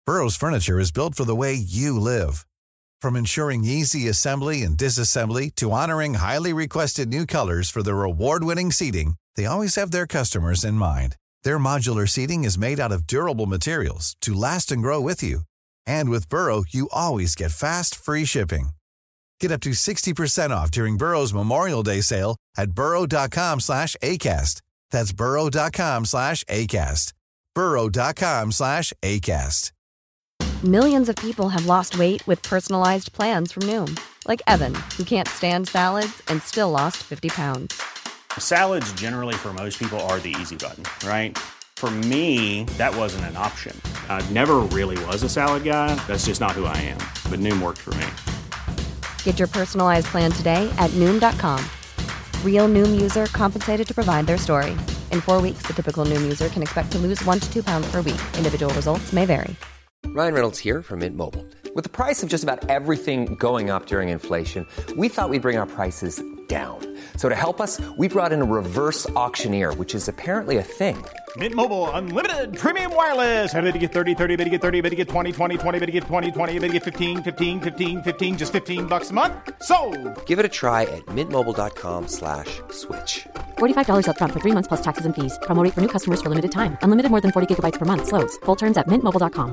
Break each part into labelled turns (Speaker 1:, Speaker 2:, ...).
Speaker 1: Burrow's furniture is built for the way you live. From ensuring easy assembly and disassembly to honoring highly requested new colors for their award-winning seating, they always have their customers in mind. Their modular seating is made out of durable materials to last and grow with you. And with Burrow, you always get fast, free shipping. Get up to 60% off during Burrow's Memorial Day sale at burrow.com/ACAST. That's burrow.com/ACAST. burrow.com/ACAST.
Speaker 2: Millions of people have lost weight with personalized plans from Noom. Like Evan, who can't stand salads and still lost 50 pounds.
Speaker 3: Salads generally for most people are the easy button, right? For me, that wasn't an option. I never really was a salad guy. That's just not who I am. But Noom worked for me.
Speaker 2: Get your personalized plan today at Noom.com. Real Noom user compensated to provide their story. In 4 weeks, the typical Noom user can expect to lose 1 to 2 pounds per week. Individual results may vary.
Speaker 4: Ryan Reynolds here from Mint Mobile. With the price of just about everything going up during inflation, we thought we'd bring our prices down. So to help us, we brought in a reverse auctioneer, which is apparently a thing.
Speaker 5: Mint Mobile Unlimited Premium Wireless. How to get 30, 30, bit to get 30, bit to get 20, 20, 20, bit to get 20, 20, bit to get 15, 15, 15, 15, just $15 a month? Sold!
Speaker 4: Give it a try at mintmobile.com/switch.
Speaker 6: $45 up front for 3 months plus taxes and fees. Promo rate for new customers for limited time. Unlimited more than 40 gigabytes per month. Slows full terms at mintmobile.com.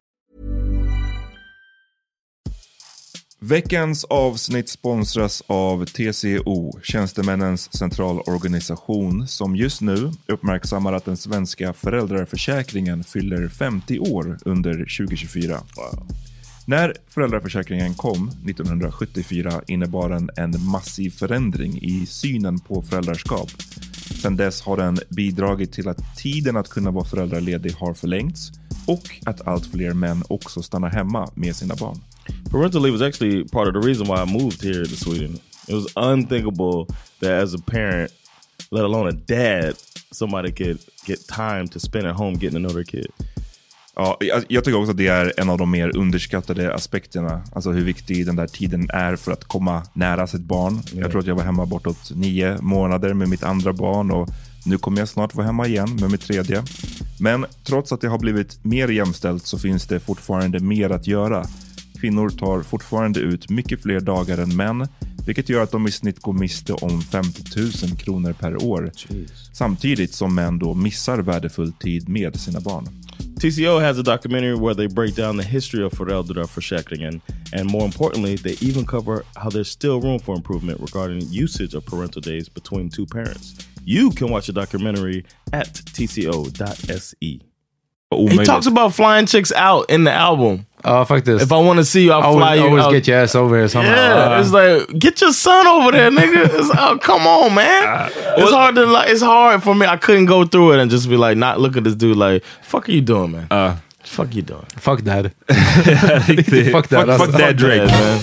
Speaker 7: Veckans avsnitt sponsras av TCO, Tjänstemännens centralorganisation, som just nu uppmärksammar att den svenska föräldraförsäkringen fyller 50 år under 2024. Wow. När föräldraförsäkringen kom 1974 innebar den en massiv förändring i synen på föräldraskap. Sedan dess har den bidragit till att tiden att kunna vara föräldraledig har förlängts och att allt fler män också stannar hemma med sina barn.
Speaker 8: Parental leave was actually part of the reason why I moved here to Sweden. It was unthinkable that as a parent, let alone a dad, somebody could get time to spend at home getting to know their kid.
Speaker 7: Ja, jag tycker också att det är en av de mer underskattade aspekterna. Alltså hur viktig den där tiden är för att komma nära sitt barn. Yeah. Jag tror att jag var hemma bortåt 9 månader med mitt andra barn och nu kommer jag snart vara hemma igen med mitt tredje. Men trots att det har blivit mer jämställt så finns det fortfarande mer att göra. Kvinnor tar fortfarande ut mycket fler dagar än män, vilket gör att de i snitt går miste om 50 000 kronor per år. Jeez. Samtidigt som män då missar värdefull tid med sina barn.
Speaker 8: TCO has a documentary where they break down the history of föräldraförsäkringen, and more importantly, they even cover how there's still room for improvement regarding usage of parental days between two parents. You can watch the documentary at tco.se. He talks about flying chicks out in the album.
Speaker 9: Ja, faktiskt.
Speaker 8: If I want to see you, I'll fly you
Speaker 9: always
Speaker 8: out.
Speaker 9: Get your ass over here somehow.
Speaker 8: Yeah, it's like, get your son over there, nigga. Come on, man. It's hard for me. I couldn't go through it and just be like, not look at this dude like, fuck are you doing, man? Fuck you doing?
Speaker 9: Fuck dad.
Speaker 7: Fuck that. Fuck that Drake, man.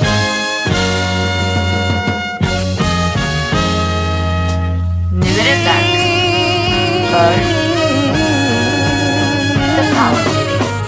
Speaker 2: Nu är det dags för The Power Meeting.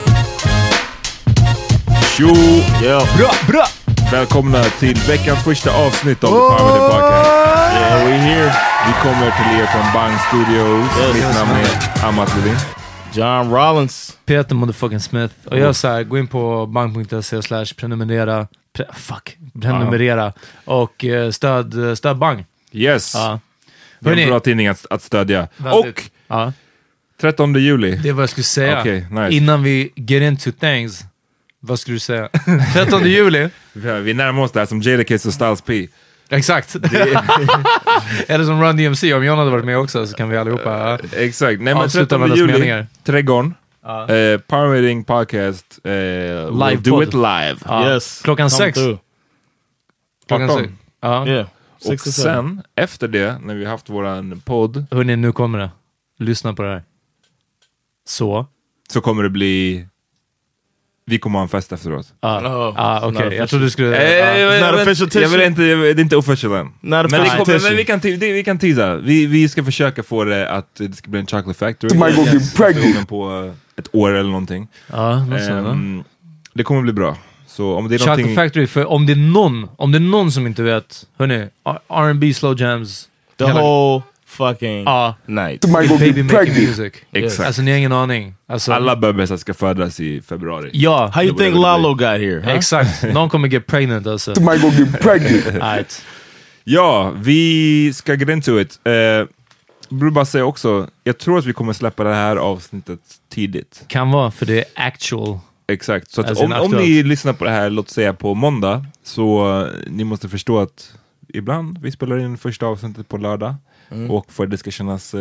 Speaker 7: Tjo! Bra! Välkomna till veckans första avsnitt av The Power Meeting Podcast.
Speaker 8: Yeah, we're here.
Speaker 7: Vi kommer till er från Bang Studios. Mitt namn är Amat Levin.
Speaker 8: John Rollins.
Speaker 9: Peter motherfucking Smith. Och jag säger, gå in på bang.se/prenumerera. Prenumerera. Och stöd Bang.
Speaker 7: Yes. Det är en bra tidning att stödja.
Speaker 9: Väldigt.
Speaker 7: Och 13 juli.
Speaker 9: Det är vad jag skulle säga.
Speaker 7: Okay, nice.
Speaker 9: Innan vi get into things. Vad skulle du säga? 13 juli.
Speaker 7: Vi närmar oss där som Jadakiss och Styles P.
Speaker 9: Exakt. Eller som Run DMC. Om John hade varit med också så kan vi allihopa
Speaker 7: exakt. Nej, men 13 juli, Trädgården. Power Meeting Podcast.
Speaker 9: Live
Speaker 7: do
Speaker 9: pod.
Speaker 7: It live.
Speaker 8: Yes.
Speaker 9: Klockan 6. Klockan 6.
Speaker 8: Yeah.
Speaker 7: Och sen, efter det, när vi haft våran podd.
Speaker 9: Hörrni, nu kommer det. Lyssna på det här. Så
Speaker 7: kommer det bli... Vi kommer ha en fest efteråt.
Speaker 9: Okej. Jag trodde du skulle...
Speaker 7: Jag vill inte, det är inte official än. Men vi kan teasa. Vi ska försöka få det att det ska bli en chocolate factory. På ett år eller någonting. Det kommer bli bra. Så om det är
Speaker 9: chocolate factory, för om det är någon som inte vet, hörni, R&B slow jams.
Speaker 8: The whole fucking night.
Speaker 9: Baby making music.
Speaker 7: Exakt.
Speaker 9: Alltså ni har ingen aning. Alltså,
Speaker 7: alla bebisar ska födas i februari.
Speaker 9: Ja.
Speaker 8: How you think Lalo got here? Huh?
Speaker 9: Exakt. Någon kommer get pregnant alltså.
Speaker 10: Somebody gonna get pregnant.
Speaker 9: Right.
Speaker 7: Ja, vi ska get into it. Vill bara säga också, jag tror att vi kommer släppa det här avsnittet tidigt.
Speaker 9: Kan vara, för det är actual.
Speaker 7: Exakt, så att
Speaker 9: Alltså,
Speaker 7: om ni lyssnar på det här, låt säga på måndag, så ni måste förstå att ibland vi spelar in första avsnittet på lördag och för att det ska kännas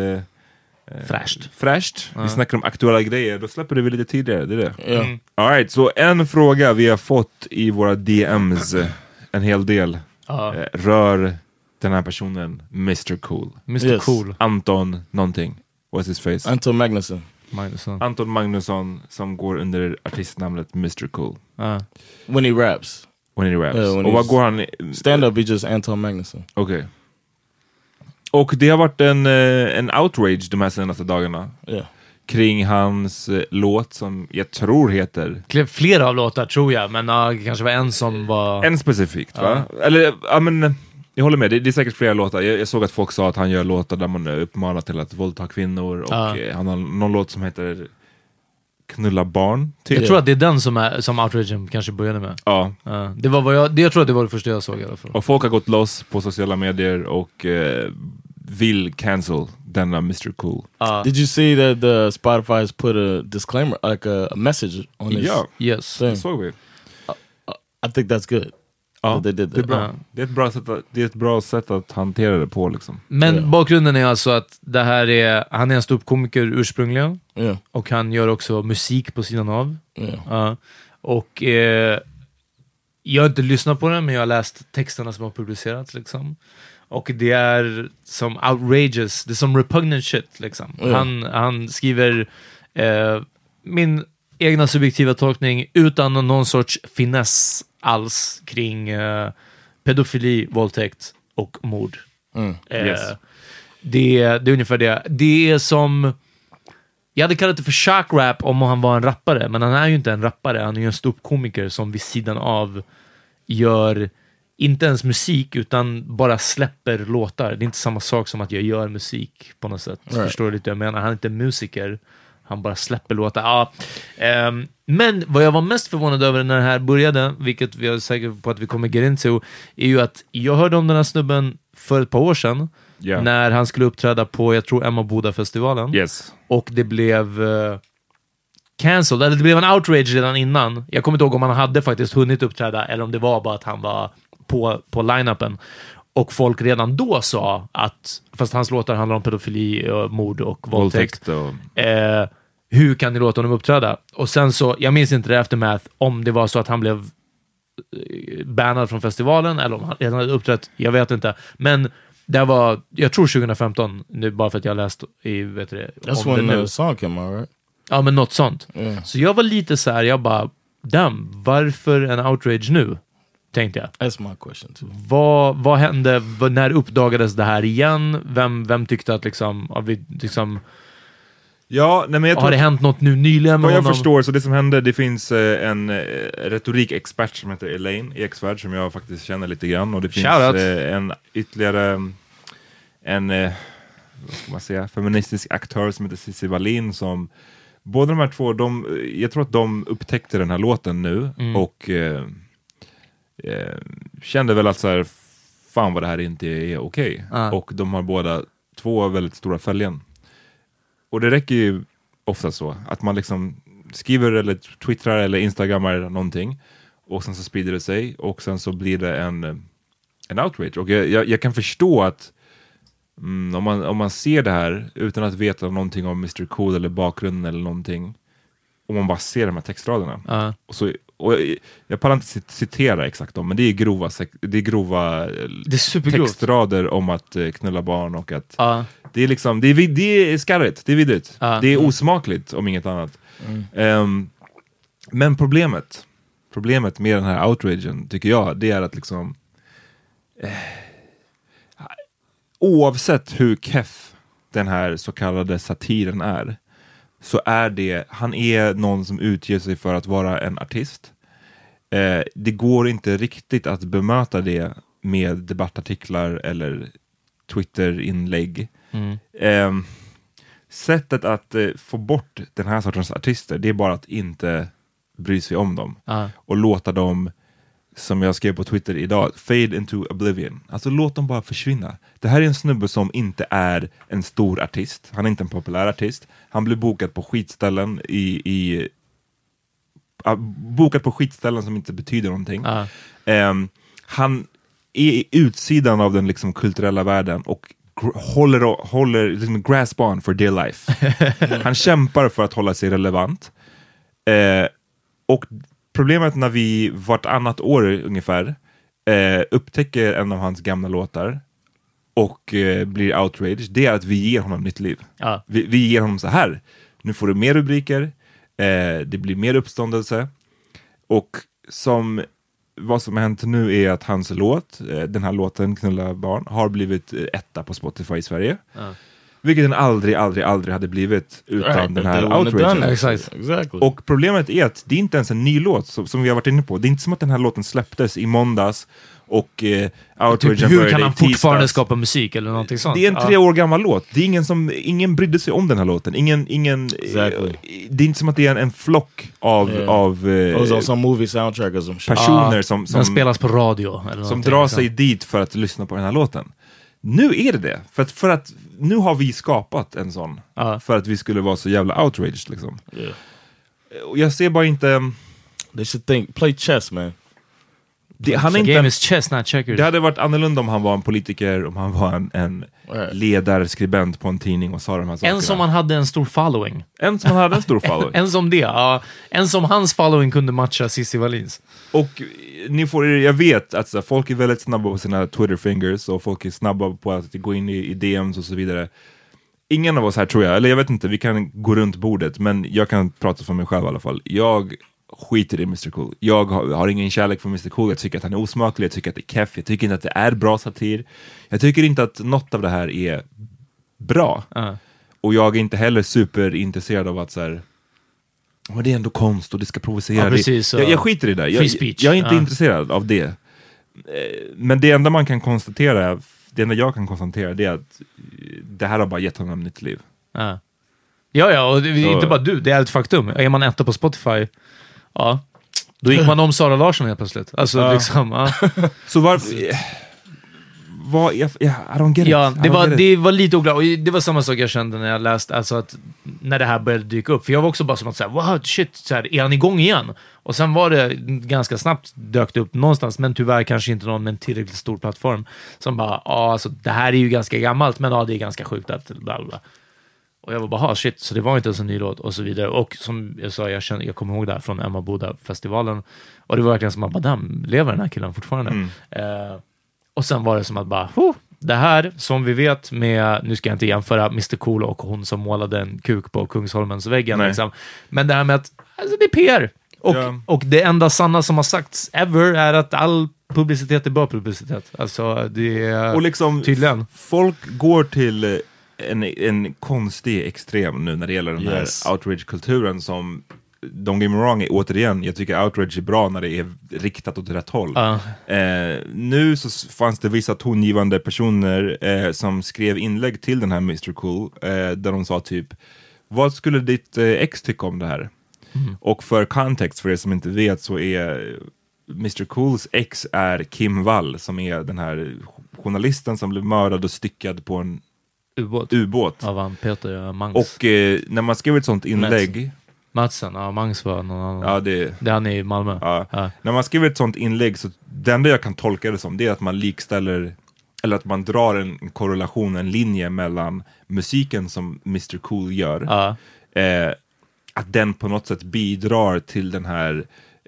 Speaker 7: fräscht. Vi snackar om aktuella grejer, då släpper vi lite tidigare, det är det. All right, så en fråga vi har fått i våra DMs, en hel del, rör den här personen Mr. Cool.
Speaker 9: Mr. Cool.
Speaker 7: Anton någonting. What's his face?
Speaker 8: Anton Magnusson.
Speaker 7: Anton Magnusson, som går under artistnamnet Mr. Cool.
Speaker 8: When he raps.
Speaker 7: Och vad går han...
Speaker 8: Stand-up is just Anton Magnusson.
Speaker 7: Okej. Och det har varit en outrage de här senaste dagarna. Kring hans låt som jag tror heter...
Speaker 9: Flera av låtar tror jag, men det kanske var en som var...
Speaker 7: En specifikt, va? Eller, ja men... Jag håller med, det är säkert flera låtar. Jag såg att folk sa att han gör låtar där man uppmanar till att våldta kvinnor. Och han har någon låt som heter Knulla barn.
Speaker 9: Jag tror att det är den som outragen kanske började med.
Speaker 7: Ja.
Speaker 9: Det var jag tror att det var det första jag såg i alla fall.
Speaker 7: Och folk har gått loss på sociala medier och vill cancel denna Mr. Cool.
Speaker 8: Did you see that the Spotify has put a disclaimer, like a message on this?
Speaker 9: Yes.
Speaker 7: Det såg vi.
Speaker 8: I think that's good.
Speaker 7: Ja,
Speaker 8: they did
Speaker 7: det är
Speaker 8: that.
Speaker 7: bra. Det är ett bra sätt att hantera det på liksom.
Speaker 9: Men bakgrunden är alltså att det här han är en ståuppkomiker ursprungligen. Och han gör också musik på sidan av. Och jag har inte lyssnat på den, men jag har läst texterna som har publicerats liksom. Och det är som outrageous, det är som repugnant shit liksom. Han skriver min egna subjektiva tolkning utan någon sorts finess alls kring pedofili, våldtäkt och mord. Det är ungefär det. Det är som... Jag hade kallat det för shark rap om han var en rappare, men han är ju inte en rappare. Han är ju en ståuppkomiker som vid sidan av gör inte ens musik, utan bara släpper låtar. Det är inte samma sak som att jag gör musik på något sätt. Förstår du lite? Jag menar, han är inte musiker. Han bara släpper låtar. Men vad jag var mest förvånad över när det här började, vilket vi är säkra på att vi kommer get into, är ju att jag hörde om den här snubben för ett par år sedan, när han skulle uppträda på, jag tror, Emmaboda-festivalen. Och det blev cancelled, eller det blev en outrage redan innan. Jag kommer inte ihåg om han hade faktiskt hunnit uppträda, eller om det var bara att han var på line-upen. Och folk redan då sa att, fast hans låtar handlar om pedofili, mord och våldtäkt. Hur kan ni låta honom uppträda? Och sen så, jag minns inte det aftermath, om det var så att han blev bannad från festivalen, eller om han redan hade uppträtt, jag vet inte. Men det var, jag tror 2015, nu bara för att jag har läst i, vet du,
Speaker 8: that's when the song came out, right?
Speaker 9: Ja, men något sånt. Så jag var lite så här, jag bara, damn, varför en outrage nu? Tänkte jag.
Speaker 8: That's my question too.
Speaker 9: Vad hände, när uppdagades det här igen? Vem tyckte att liksom,
Speaker 7: men jag tror
Speaker 9: har det hänt något nu nyligen med
Speaker 7: vad jag
Speaker 9: honom?
Speaker 7: förstår, så det som hände, det finns en retorikexpert som heter Elaine i X-Värld, som jag faktiskt känner lite grann, och det finns en ytterligare vad ska man säga, feministisk aktör som heter Cissi Wallin, som båda de här två, jag tror att de upptäckte den här låten nu och kände väl att så här, fan vad det här inte är okej. Och de har båda två väldigt stora följen. Och det räcker ju ofta så att man liksom skriver eller twittrar eller instagrammar någonting, och sen så sprider det sig, och sen så blir det en outrage. Och jag kan förstå att om man ser det här utan att veta någonting om Mr. Cool eller bakgrunden eller någonting, om man bara ser de här textraderna. Och jag pallar inte citera exakt dem, men det är grova textrader om att knulla barn, och att det är liksom, det är skarrigt, det är vidrigt, det är osmakligt om inget annat. Men problemet med den här outragen, tycker jag, det är att liksom oavsett hur keff den här så kallade satiren är, så är han är någon som utger sig för att vara en artist. Det går inte riktigt att bemöta det med debattartiklar eller Twitter-inlägg. Sättet att få bort den här sortens artister, det är bara att inte bry sig om dem. Och låta dem, som jag skrev på Twitter idag, fade into oblivion. Alltså låt dem bara försvinna. Det här är en snubbe som inte är en stor artist. Han är inte en populär artist. Han blir bokad på skitställen bokad på skitställen som inte betyder någonting. Han är i utsidan av den liksom kulturella världen och håller liksom grasp on for dear life. Han kämpar för att hålla sig relevant. Och problemet när vi vartannat år ungefär upptäcker en av hans gamla låtar och blir outraged, det är att vi ger honom nytt liv. Vi ger honom så här. Nu får du mer rubriker, det blir mer uppståndelse, och vad som har hänt nu är att hans låt, den här låten Knulla barn, har blivit etta på Spotify i Sverige. Vilket den aldrig hade blivit utan den här outragen.
Speaker 8: Exactly.
Speaker 7: Och problemet är att det är inte ens en ny låt som vi har varit inne på. Det är inte som att den här låten släpptes i måndags och outragen
Speaker 9: typ, hur kan han fortfarande skapa musik eller någonting sånt?
Speaker 7: Det är en 3 år gammal låt. Det är ingen brydde sig om den här låten. Det är inte som att det är en flock av
Speaker 8: movie soundtrack
Speaker 7: personer som
Speaker 9: den spelas på radio eller
Speaker 7: som drar sig dit för att lyssna på den här låten. Nu är det. För att nu har vi skapat en sån. För att vi skulle vara så jävla outraged liksom. Och jag ser bara inte...
Speaker 8: They should play chess, man.
Speaker 9: Game is chess, not checkers.
Speaker 7: Det hade varit annorlunda om han var en politiker, om han var en ledarskribent på en tidning och sa de här sakerna.
Speaker 9: En som han hade en stor following.
Speaker 7: En som en som hans following kunde matcha Cissi Wallins. Och jag vet att folk är väldigt snabba på sina Twitter fingers och folk är snabba på att gå in i DMs och så vidare. Ingen av oss här, tror jag, eller jag vet inte, vi kan gå runt bordet, men jag kan prata för mig själv i alla fall. Jag skiter i Mr. Cool. Jag har ingen kärlek för Mr. Cool. Jag tycker att han är osmaklig, jag tycker att det är keff, jag tycker inte att det är bra satir. Jag tycker inte att något av det här är bra. Och jag är inte heller superintresserad av att så här, men det är ändå konst och det ska provocera.
Speaker 9: Precis,
Speaker 7: jag skiter i det där. Jag är inte intresserad av det. Men det enda jag kan konstatera det är att det här har bara gett honom nytt liv.
Speaker 9: Ja, och det är inte bara det är ett faktum. Är man etta på Spotify, då gick man om Sara Larsson helt plötsligt. Alltså liksom,
Speaker 7: Så varför... I don't get it.
Speaker 9: Det var lite oklart. Och det var samma sak jag kände när jag läste, alltså att när det här började dyka upp. För jag var också bara som att säga, wow, shit, så här, är han igång igen? Och sen var det ganska snabbt dök det upp någonstans, men tyvärr kanske inte någon med en tillräckligt stor plattform som bara, alltså det här är ju ganska gammalt, men det är ganska sjukt att bla bla. Och jag var bara, shit, så det var inte ens en ny låt och så vidare. Och som jag sa, jag kommer ihåg det här från Emma Boda-festivalen. Och det var verkligen som att, madam, lever den här killen fortfarande? Och sen var det som att bara, det här som vi vet med, nu ska jag inte jämföra Mr. Cool och hon som målade en kuk på Kungsholmens väggen liksom. Men det här med att, alltså det är PR. Och det enda sanna som har sagts ever är att all publicitet är bra publicitet. Alltså det är
Speaker 7: och liksom,
Speaker 9: tydligen.
Speaker 7: Folk går till en konstig extrem nu när det gäller den här outrage-kulturen som, don't get me wrong, återigen, jag tycker outrage är bra när det är riktat åt rätt håll. Nu så fanns det vissa tongivande personer som skrev inlägg till den här Mr. Cool där de sa typ, vad skulle ditt ex tycka om det här? Och för kontext, för er som inte vet, så är Mr. Cools ex är Kim Wall, som är den här journalisten som blev mördad och styckad på en ubåt.
Speaker 9: Av han Peter Mangs.
Speaker 7: Och när man skrev ett sånt inlägg
Speaker 9: Madsen, Mangs var någon annan.
Speaker 7: Ja, det
Speaker 9: är han i Malmö.
Speaker 7: När man skriver ett sånt inlägg, så det enda jag kan tolka det som, det är att man likställer, eller att man drar en korrelation, en linje mellan musiken som Mr. Cool gör, att den på något sätt bidrar till den här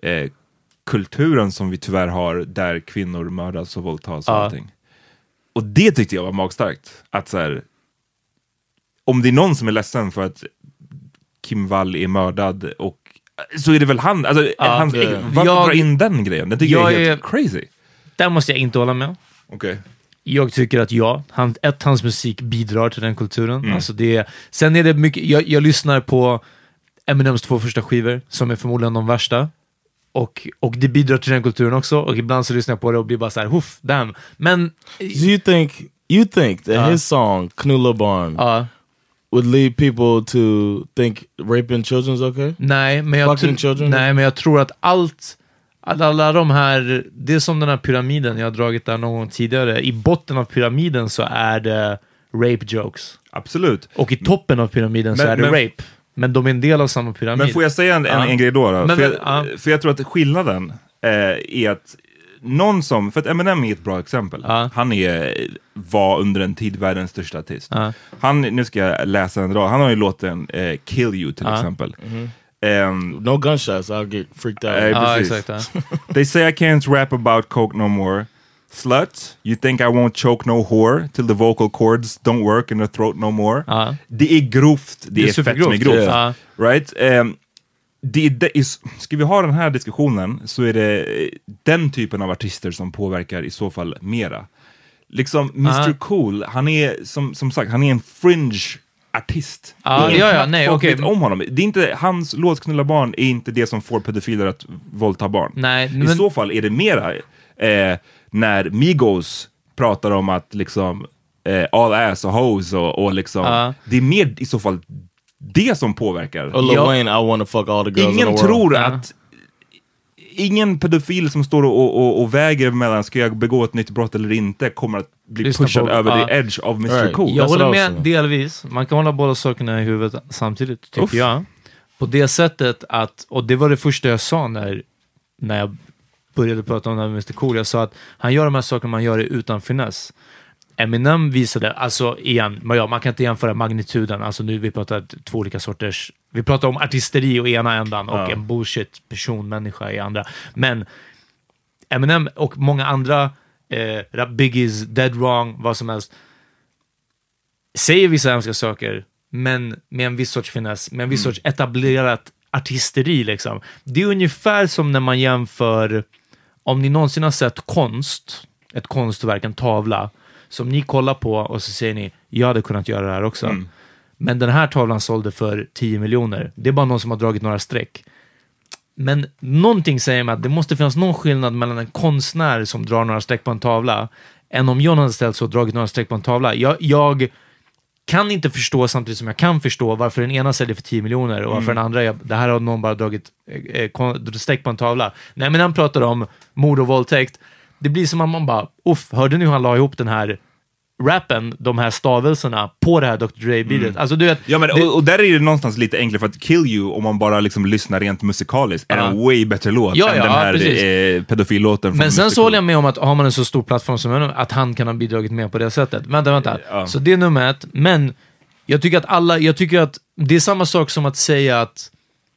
Speaker 7: kulturen som vi tyvärr har, där kvinnor mördas och våldtas och allting. Och det tyckte jag var magstarkt. Att så här, om det är någon som är ledsen för att Kim Wall är mördad, och så är det väl han, alltså varför dra in den grejen? Det tycker jag är helt crazy.
Speaker 9: Där måste jag inte hålla med.
Speaker 7: Okej.
Speaker 9: Jag tycker att hans musik bidrar till den kulturen. Alltså sen är det mycket, jag lyssnar på Eminems 2 första skivor, som är förmodligen de värsta. Och det bidrar till den kulturen också. Och ibland så lyssnar jag på det och blir bara så här, damn. Men
Speaker 8: do you think You think that his song, Knulla Barn, would lead people to think raping children is okay?
Speaker 9: Nej, men jag tror att alla de här, det är som den här pyramiden jag har dragit där någon gång tidigare. I botten av pyramiden så är det rape jokes.
Speaker 7: Absolut.
Speaker 9: Och i toppen av pyramiden så är det rape. Men de är en del av samma pyramid.
Speaker 7: Men får jag säga en grej då? För jag tror att skillnaden är att någon som, för att Eminem är ett bra exempel. Han var under en tid världens största artist. Nu ska jag läsa en rad. Han har ju låten Kill You till exempel.
Speaker 8: No gunshots, I'll get freaked out.
Speaker 9: Exakt.
Speaker 7: They say I can't rap about coke no more. Slut, you think I won't choke no whore till the vocal cords don't work in the throat no more. Det är grovt, det är fett med grovt. Right? Ska vi ha den här diskussionen så är det den typen av artister som påverkar i så fall mera. Liksom Mr. Cool, han är som sagt, han är en fringe artist. Folk vet om honom. Det är inte, hans låt Knulla Barn är inte det som får pedofiler att våldta barn.
Speaker 9: Nej,
Speaker 7: I så fall är det mera när Migos pratar om att liksom all ass och hoes och liksom det är mer i så fall det som påverkar.
Speaker 8: Och Lil Wayne, I wanna fuck all the girls
Speaker 7: ingen
Speaker 8: in the world.
Speaker 7: tror att ingen pedofil som står och väger mellan ska jag begå ett nytt brott eller inte kommer att bli pushad över the edge av Mr. Cool.
Speaker 9: Jag håller med delvis. Man kan hålla båda sakerna i huvudet samtidigt, tycker jag. På det sättet att, och det var det första jag sa när jag började prata om det här med Mr. Cool. Jag sa att han gör de här sakerna man gör det utan finess. Eminem visade, alltså igen, man kan inte jämföra magnituden, alltså nu vi pratar två olika sorters, vi pratar om artisteri i ena ändan och en bullshit personmänniska i andra, men Eminem och många andra Biggies, Dead Wrong, vad som helst säger vissa hemska saker, men med en viss sorts finess, med en viss sorts etablerat artisteri liksom. Det är ungefär som när man jämför, om ni någonsin har sett ett konstverk, en tavla som ni kollar på och så säger ni, jag hade kunnat göra det här också. Men den här tavlan sålde för 10 miljoner. Det är bara någon som har dragit några streck. Men någonting säger mig att det måste finnas någon skillnad mellan en konstnär som drar några streck på en tavla än om John hade ställt så och dragit några streck på en tavla. Jag kan inte förstå, samtidigt som jag kan förstå varför den ena säljer för 10 miljoner och varför den andra, det här har någon bara dragit streck på en tavla. Nej, men han pratar om mord och våldtäkt. Det blir som att man bara, hörde nu han la ihop den här rappen, de här stavelserna på det här Dr. Dre-beatet. Alltså, du vet,
Speaker 7: ja, men, och där är det någonstans lite enklare, för att Kill You, om man bara liksom lyssnar rent musikaliskt, är en way bättre låt än den här pedofillåten.
Speaker 9: Men sen så håller jag med om att har man en så stor plattform som att han kan ha bidragit med på det sättet. Vänta. Så det är nummer 1. Men jag tycker att det är samma sak som att säga att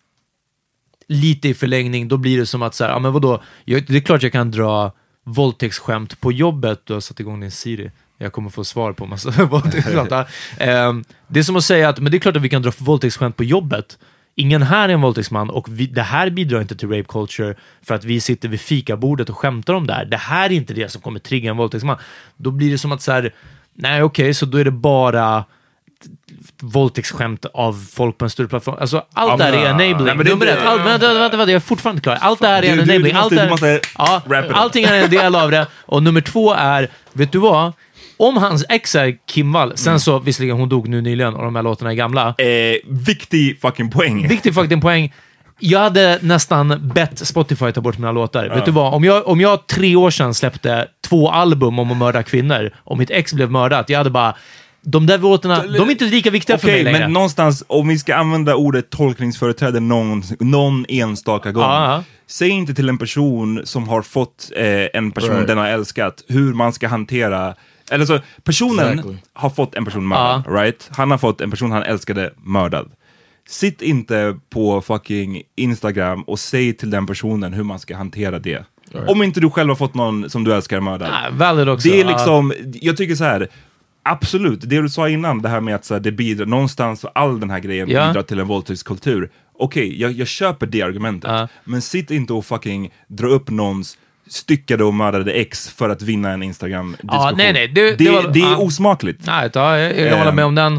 Speaker 9: lite i förlängning, då blir det som att så här, men vadå? Det är klart jag kan dra våldtäktsskämt på jobbet. Du har satt igång din Siri. Jag kommer få svar på massa våldtäktsskämt. Det är som att säga att men det är klart att vi kan dra våldtäktsskämt på jobbet. Ingen här är en våldtäktsman och det här bidrar inte till rape culture för att vi sitter vid fikabordet och skämtar om det här. Det här är inte det som kommer trigga en våldtäktsman. Då blir det som att så här, nej okej, så då är det bara våldtäktsskämt av folk på en större plattform. Alltså allt där är enabling. Vänta, jag är fortfarande klar. Allt det här är enabling. Allting är en del av det. Och nummer 2 är, vet du vad? Om hans ex är Kim Wall, sen så visserligen hon dog nu nyligen och de här låtarna är gamla.
Speaker 7: Viktig fucking poäng.
Speaker 9: Jag hade nästan bett Spotify ta bort mina låtar. Vet du vad? Om jag 3 år sedan släppte 2 album om att mörda kvinnor och mitt ex blev mördat, jag hade bara, de där låtarna, de är inte lika viktiga för mig längre.
Speaker 7: Men någonstans, om vi ska använda ordet tolkningsföreträde någon enstaka gång, säg inte till en person som har fått en person den har älskat hur man ska hantera. Eller så, personen har fått en person mördad, right? Han har fått en person han älskade mördad. Sitt inte på fucking Instagram och säg till den personen hur man ska hantera det. Om inte du själv har fått någon som du älskar mördad.
Speaker 9: Valid också.
Speaker 7: Det är liksom, jag tycker så här, absolut, det du sa innan, det här med att så här, det bidrar någonstans, all den här grejen bidrar till en våldtäktskultur. Okej, jag köper det argumentet. Men sitt inte och fucking dra upp någons styckade och mördade ex för att vinna en Instagram-diskussion.
Speaker 9: Nej.
Speaker 7: Det är osmakligt.
Speaker 9: Nej, jag håller med om den.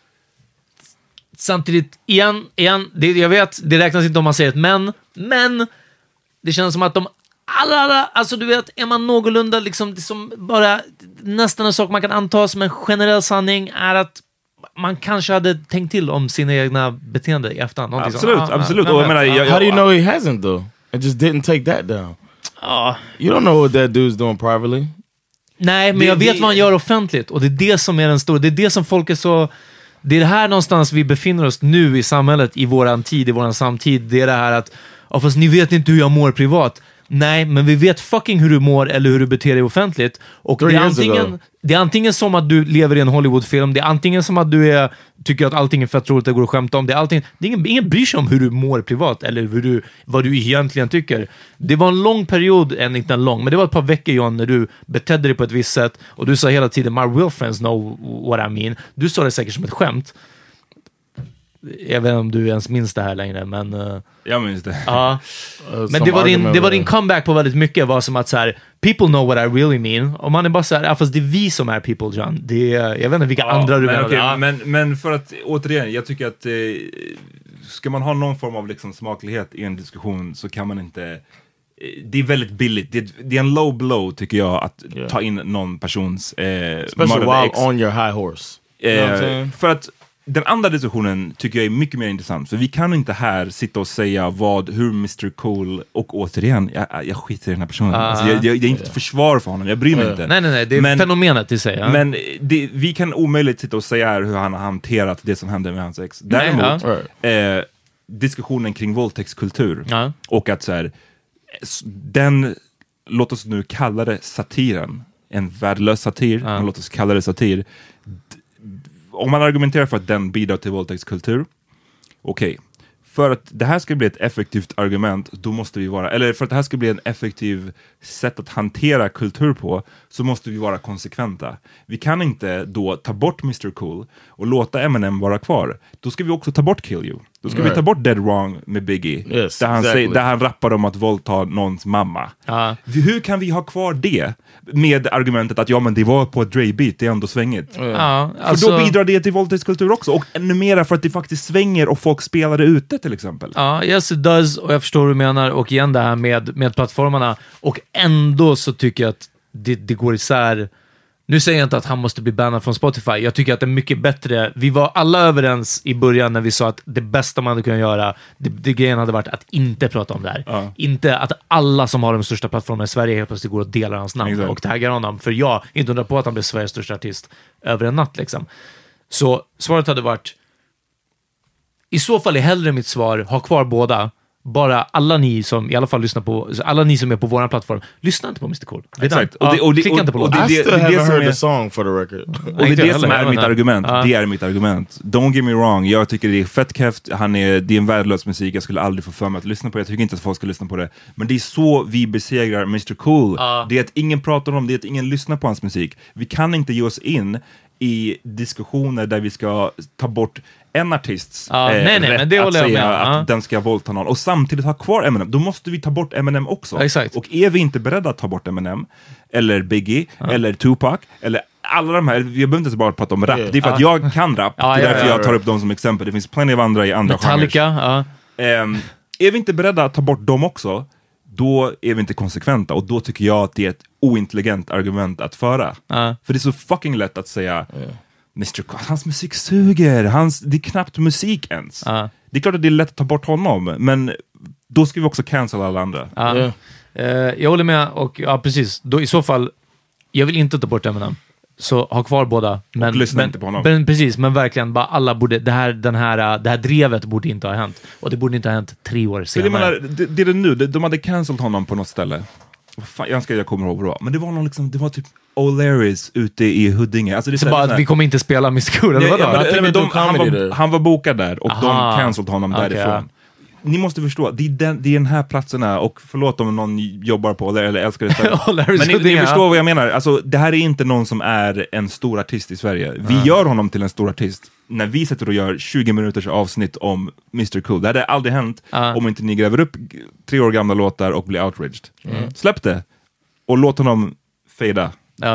Speaker 9: Samtidigt, igen jag vet, det räknas inte om man säger ett men det känns som att de alla, alltså du vet, är man någorlunda liksom, det som bara nästan en sak man kan anta som en generell sanning är att man kanske hade tänkt till om sina egna beteende i efterhand.
Speaker 7: Absolut.
Speaker 8: Och jag menar, how do you know he hasn't though? It just didn't take that down. You don't know what that dude's doing privately.
Speaker 9: Nej, men jag vet vad han gör offentligt. Och det är det som är den stora. Det är det som folk är så... Det är det här någonstans vi befinner oss nu i samhället, i våran tid, i våran samtid. Det är det här att, fast ni vet inte hur jag mår privat. Nej, men vi vet fucking hur du mår eller hur du beter dig offentligt. Och det är antingen som att du lever i en Hollywoodfilm, det är antingen som att du tycker att allting är fett roligt att gå och skämta om. Det är ingen bryr sig om hur du mår privat eller vad du egentligen tycker. Det var en lång period, inte en lång, men det var ett par veckor, John, när du betedde dig på ett visst sätt och du sa hela tiden, my real friends know what I mean. Du sa det säkert som ett skämt. Jag vet inte om du ens minns det här längre, men...
Speaker 7: jag minns det.
Speaker 9: Ja. Men det var din comeback på väldigt mycket, var som att så här, people know what I really mean. Och man är bara så här, fast det är vi som är people, John. Jag vet inte vilka andra du menar.
Speaker 7: Okay, men för att, återigen, jag tycker att ska man ha någon form av liksom smaklighet i en diskussion så kan man inte... Det är väldigt billigt. Det är en low blow, tycker jag, att ta in någon persons...
Speaker 8: Especially while on your high horse.
Speaker 7: För att den andra diskussionen tycker jag är mycket mer intressant. För vi kan inte här sitta och säga hur Mr. Cool, och återigen, jag skiter i den här personen. Alltså, jag är inte försvar för honom, jag bryr mig inte.
Speaker 9: Nej, det är fenomenet i sig. Ja.
Speaker 7: Men vi kan omöjligt sitta och säga hur han har hanterat det som hände med hans ex. Däremot, diskussionen kring våldtäktskultur. Och att så här, låt oss nu kalla det satiren. En värdelös satir, men låt oss kalla det satir. Om man argumenterar för att den bidrar till våldtäktskultur, okej. För att det här ska bli ett effektivt argument, då måste vi vara, eller för att det här ska bli en effektiv sätt att hantera kultur på, så måste vi vara konsekventa. Vi kan inte då ta bort Mr. Cool och låta Eminem vara kvar. Då ska vi också ta bort Kill You. Då ska vi ta bort Dead Wrong med Biggie.
Speaker 8: Yes,
Speaker 7: där han rappar om att våldta någons mamma. Hur kan vi ha kvar det med argumentet att men det var på ett Dre-beat, det är ändå svängigt. För då bidrar det till våldtäktskultur också. Och ännu mer för att det faktiskt svänger och folk spelar det ute till exempel.
Speaker 9: Yes it does, och jag förstår hur du menar. Och igen det här med plattformarna. Och ändå så tycker jag att det går isär. Nu säger jag inte att han måste bli bannad från Spotify. Jag tycker att det är mycket bättre. Vi var alla överens i början när vi sa att det bästa man hade kunnat göra, det grejen hade varit att inte prata om det här. Inte att alla som har de största plattformarna i Sverige helt plötsligt går och delar hans namn och taggar honom. För jag inte undrar på att han blev Sveriges största artist över en natt liksom. Så svaret hade varit, i så fall är hellre mitt svar, ha kvar båda. Bara alla ni som i alla fall lyssnar på, alla ni som är på våran plattform, lyssna inte på Mr. Cool.
Speaker 7: Exakt.
Speaker 9: Klicka inte på låten.
Speaker 8: I still haven't heard the song for the record.
Speaker 7: Och det är det som är mitt argument. Det är mitt argument. Don't get me wrong. Jag tycker det är fett keft. Det är en värdelös musik. Jag skulle aldrig få för mig att lyssna på det. Jag tycker inte att folk ska lyssna på det. Men det är så vi besegrar Mr. Cool. Det är att ingen pratar om det. Är att ingen lyssnar på hans musik. Vi kan inte ge oss in i diskussioner där vi ska ta bort en artists rätt att säga att den ska våldta någon och samtidigt ha kvar Eminem. Då måste vi ta bort Eminem också.
Speaker 9: Exakt.
Speaker 7: Och är vi inte beredda att ta bort Eminem eller Biggie eller Tupac eller alla de här, jag behöver inte bara prata om rap. Det är för att jag kan rap. Det är därför jag tar upp dem som exempel. Det finns plenty av andra i andra
Speaker 9: Metallica,
Speaker 7: är vi inte beredda att ta bort dem också, då är vi inte konsekventa. Och då tycker jag att det är ett ointelligent argument att föra. För det är så fucking lätt att säga Mr. Cool, hans musik suger. Det är knappt musik ens. Det är klart att det är lätt att ta bort honom, men då ska vi också cancel alla andra.
Speaker 9: Jag håller med, och precis. Då, i så fall, jag vill inte ta bort Eminem. Så ha kvar båda. Men,
Speaker 7: och lyssna inte på honom.
Speaker 9: Men, precis, men verkligen, bara alla borde, det här drevet borde inte ha hänt. Och det borde inte ha hänt 3 år senare.
Speaker 7: Det är det nu, de hade cancelled honom på något ställe. Jag kommer ihåg bra. Men det var någon liksom, det var typ O'Larrys ute i Huddinge. Alltså det är
Speaker 9: så bara att vi kommer inte spela Mr. Cool, eller vadå?
Speaker 7: Han var bokad där och de cancelled honom därifrån. Ni måste förstå, det är den här platserna, och förlåt om någon jobbar på O'Larry eller älskar det. Men ni förstår vad jag menar. Alltså, det här är inte någon som är en stor artist i Sverige. Vi gör honom till en stor artist när vi sätter och gör 20 minuters avsnitt om Mr. Cool. Det hade aldrig hänt om inte ni gräver upp 3 år gamla låtar och blir outraged. Släpp det och låt honom fejda.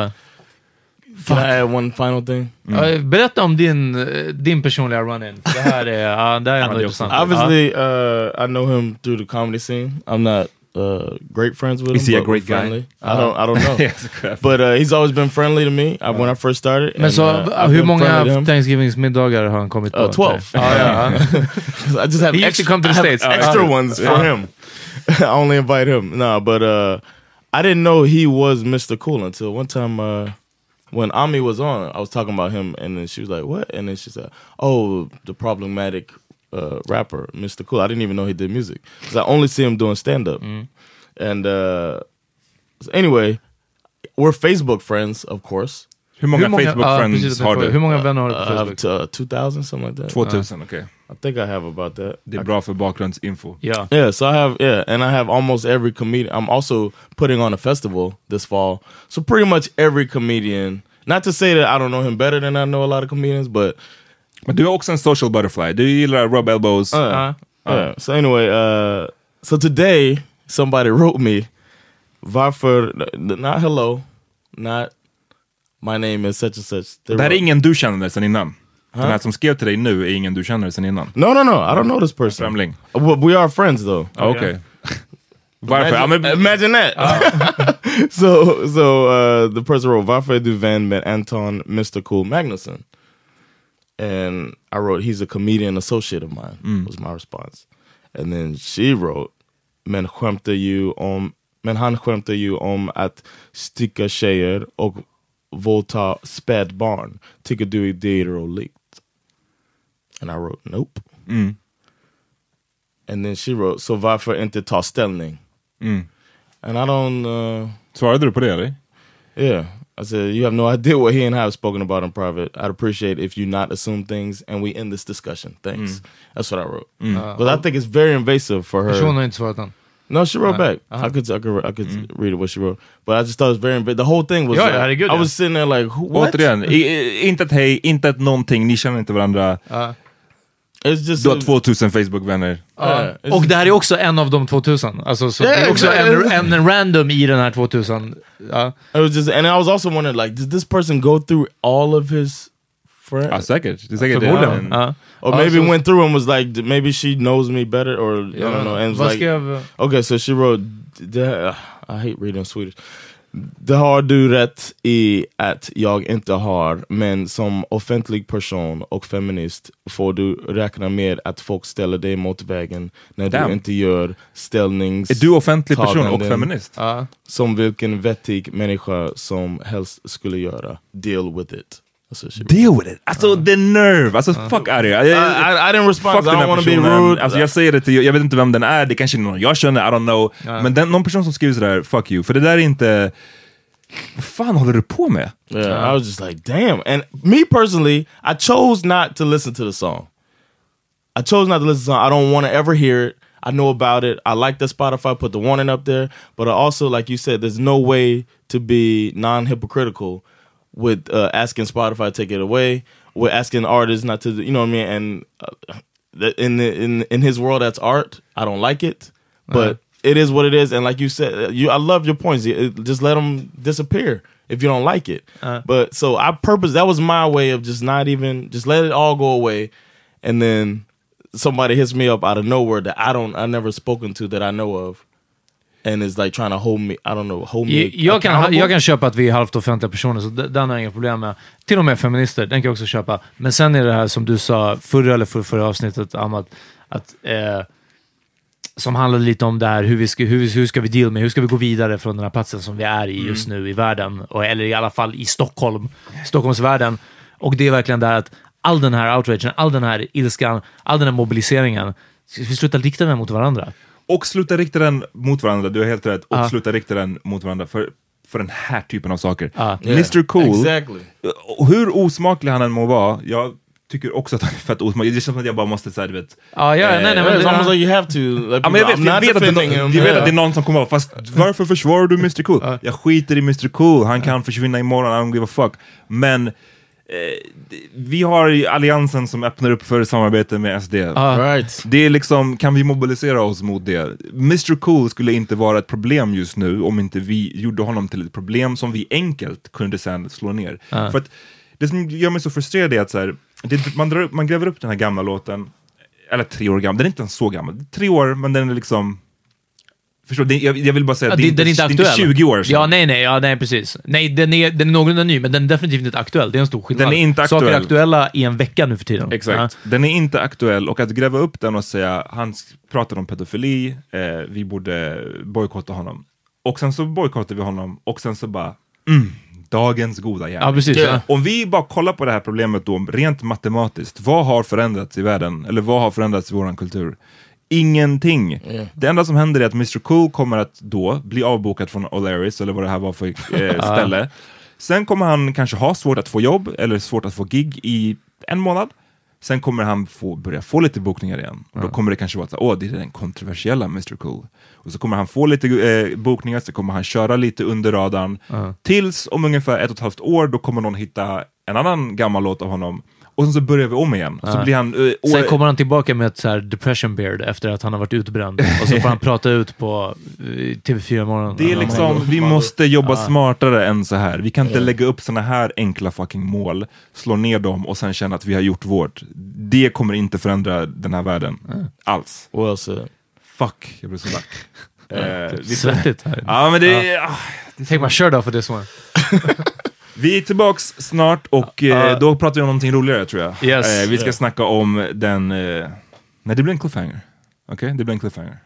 Speaker 8: Can I add one final thing?
Speaker 9: Berätta om din personliga run-in. Det här är ändå intressant.
Speaker 8: Obviously, I know him through the comedy scene. I'm not great friends with him.
Speaker 7: Is he a great
Speaker 8: friendly.
Speaker 7: guy?
Speaker 8: I don't know. But he's always been friendly to me when I first started.
Speaker 9: Men så, hur många Thanksgiving-middagar har han kommit på?
Speaker 8: 12. I just have
Speaker 9: he used to come to the States.
Speaker 8: Extra ones for him. I only invite him. No, but I didn't know he was Mr. Cool until one time when Ami was on, I was talking about him, and then she was like, what? And then she said, oh, the problematic rapper, Mr. Cool. I didn't even know he did music. So I only see him doing stand-up. And so anyway, we're Facebook friends, of course.
Speaker 7: Hur många Facebook-friends har du?
Speaker 9: Hur många vänner har du på Facebook?
Speaker 8: I have 2,000, something like that.
Speaker 7: 2000, okay.
Speaker 8: I think I have about that.
Speaker 7: Det är bra för bakgrundsinfo.
Speaker 8: Yeah, so and I have almost every comedian. I'm also putting on a festival this fall. So pretty much every comedian, not to say that I don't know him better than I know a lot of comedians, but...
Speaker 7: Men du är också en social butterfly. Du gillar rub elbows.
Speaker 8: So anyway, so today somebody wrote me, varför, not hello, not my name is such and such.
Speaker 7: Det här är ingen du känner sen innan. Den här som skrev till dig nu är ingen du känner sen innan.
Speaker 8: No, I don't know this person.
Speaker 7: Främling.
Speaker 8: We are friends though.
Speaker 7: Okay. Varför?
Speaker 8: Imagine that. So the person wrote, varför är du vän med Anton Mr. Cool Magnusson? And I wrote, he's a comedian associate of mine, was my response. And then she wrote, men han skämtar ju om att sticka tjejer och våldta spädbarn. Tycker du det är roligt? And I wrote, nope. And then she wrote, så varför inte ta ställning? And I don't...
Speaker 7: Svarade du på det, eller?
Speaker 8: Yeah. I said, you have no idea what he and I have spoken about in private. I'd appreciate if you not assume things and we end this discussion. Thanks. That's what I wrote. Because I think it's very invasive for her.
Speaker 9: Personen har inte svarat än.
Speaker 8: No, she wrote back. I could read what she wrote. But I just thought it was very invasive. The whole thing was I was sitting there like, what?
Speaker 7: Återigen, inte ett hej, inte ett någonting. Ni känner inte varandra.
Speaker 8: It's just
Speaker 7: du har 2000 Facebook-vänner.
Speaker 9: Och det här är också en av de 2000. Alltså, så det är också en random i den här 2000.
Speaker 8: It was just, and I was also wondering, like, did this person go through all of his friends?
Speaker 7: Säkert. Det är säkert
Speaker 8: det. Or maybe went through and was like, maybe she knows me better, or I don't know. And was like, okay, so she wrote, I hate reading Swedish. Det har du rätt i att jag inte har, men som offentlig person och feminist får du räkna med att folk ställer dig mot vägen när du inte gör ställnings...
Speaker 7: Är du offentlig person och feminist?
Speaker 8: Som vilken vettig människa som helst skulle göra. Deal with it.
Speaker 7: Deal with it? Alltså, the nerve! Alltså, fuck out of here.
Speaker 8: I didn't respond, I don't want to be rude.
Speaker 7: Alltså, jag säger det till, jag vet inte vem den är, det kanske är någon jag känner, I don't know. Men någon person som skriver sådär, fuck you. För det där är inte... Vad fan håller du på med?
Speaker 8: Yeah, I was just like, damn. And me personally, I chose not to listen to the song. I chose not to listen to the song. I don't want to ever hear it. I know about it. I like that Spotify put the warning up there. But I also, like you said, there's no way to be non-hypocritical with asking Spotify to take it away, with asking artists not to, you know what I mean? And in his world, that's art. I don't like it, but it is what it is. And like you said, I love your points. Just let them disappear if you don't like it. But so that was my way of just not even, just let it all go away. And then somebody hits me up out of nowhere that I never spoken to that I know of. And is like trying to hold me, I don't know, hold me
Speaker 9: jag kan köpa att vi är halvt offentliga personer, så den har jag inga problem med. Till och med feminister, den kan jag också köpa. Men sen är det här som du sa förra avsnittet, Ahmad, att som handlade lite om det här, hur ska vi deal med, hur ska vi gå vidare från den här platsen som vi är i just nu i världen, eller i alla fall i Stockholmsvärlden. Och det är verkligen där att all den här outragen, all den här ilskan, all den här mobiliseringen, vi slutar rikta den mot varandra.
Speaker 7: Och sluta rikta den mot varandra, du har helt rätt. Och sluta rikta den mot varandra för den här typen av saker. Mr. Cool, hur osmaklig han än må vara, jag tycker också att han är fett osmaklig. Det känns som att jag bara måste säga, du vet.
Speaker 8: Nej, it's almost like you have to. Like,
Speaker 7: jag vet att det är någon som kommer vara, fast varför försvarar du Mr. Cool? Jag skiter i Mr. Cool, han kan försvinna imorgon, I don't give a fuck. Men vi har alliansen som öppnar upp för samarbete med SD. Det är liksom, kan vi mobilisera oss mot det? Mr. Cool skulle inte vara ett problem just nu om inte vi gjorde honom till ett problem som vi enkelt kunde sen slå ner. För att det som gör mig så frustrerad är att så här, man gräver upp den här gamla låten, eller 3 år gammal, den är inte ens så gammal, 3 år, men den är liksom Förstår, jag vill bara säga att
Speaker 9: den är inte aktuell.
Speaker 7: Det är inte 20 år sedan.
Speaker 9: Nej, precis. Nej, den är någorlunda ny, men den är definitivt inte aktuell. Det är en stor skillnad.
Speaker 7: Den är inte aktuell.
Speaker 9: Saker är aktuella i en vecka nu för tiden.
Speaker 7: Exakt. Den är inte aktuell, och att gräva upp den och säga han pratade om pedofili, vi borde bojkotta honom. Och sen så bojkottar vi honom, och sen så bara dagens goda gärning.
Speaker 9: Ja, precis. Ja.
Speaker 7: Om vi bara kollar på det här problemet då, rent matematiskt, vad har förändrats i världen? Eller vad har förändrats i våran kultur? Ingenting. Det enda som händer är att Mr. Cool kommer att då bli avbokad från O'Larrys, eller vad det här var för ställe. Sen kommer han kanske ha svårt att få jobb, eller svårt att få gig i 1 månad. Sen kommer han börja få lite bokningar igen. Och då kommer det kanske vara så, det är den kontroversiella Mr. Cool. Och så kommer han få lite bokningar, så kommer han köra lite under radarn. Tills om ungefär 1,5 år, då kommer någon hitta en annan gammal låt av honom. Och sen så börjar vi om igen. Så blir han,
Speaker 9: sen kommer han tillbaka med ett så här depression beard efter att han har varit utbränd. Och så får han prata ut på TV4 morgon.
Speaker 7: Det är liksom, vi måste jobba smartare än så här. Vi kan inte lägga upp såna här enkla fucking mål, slå ner dem och sen känna att vi har gjort vårt. Det kommer inte förändra den här världen. Alls. Fuck, jag blir så lack.
Speaker 9: Svettigt här.
Speaker 7: Ja, men det
Speaker 9: Take my shirt off for this one.
Speaker 7: Vi är tillbaks snart, och då pratar vi om någonting roligare, tror jag.
Speaker 9: Yes.
Speaker 7: Vi ska snacka om den... nej, det blir en cliffhanger. Okej, det blir en cliffhanger.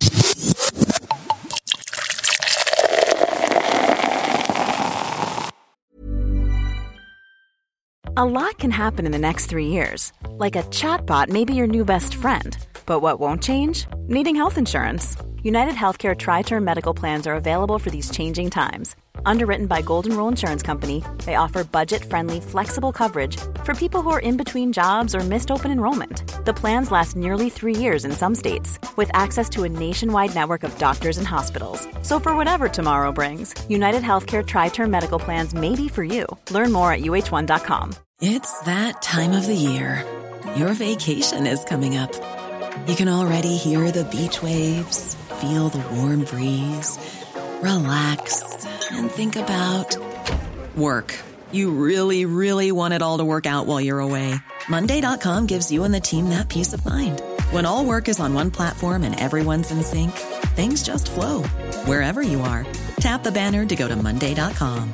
Speaker 10: A lot can happen in the next 3 years. Like a chatbot may be your new best friend. But what won't change? Needing health insurance. United Healthcare Tri-Term Medical Plans are available for these changing times. Underwritten by Golden Rule Insurance Company, they offer budget-friendly, flexible coverage for people who are in between jobs or missed open enrollment. The plans last nearly 3 years in some states, with access to a nationwide network of doctors and hospitals. So for whatever tomorrow brings, United Healthcare Tri-Term Medical Plans may be for you. Learn more at uh1.com.
Speaker 11: It's that time of the year. Your vacation is coming up. You can already hear the beach waves, feel the warm breeze, relax, and think about work. You really, really want it all to work out while you're away. Monday.com gives you and the team that peace of mind. When all work is on one platform and everyone's in sync, things just flow. Wherever you are, tap the banner to go to Monday.com.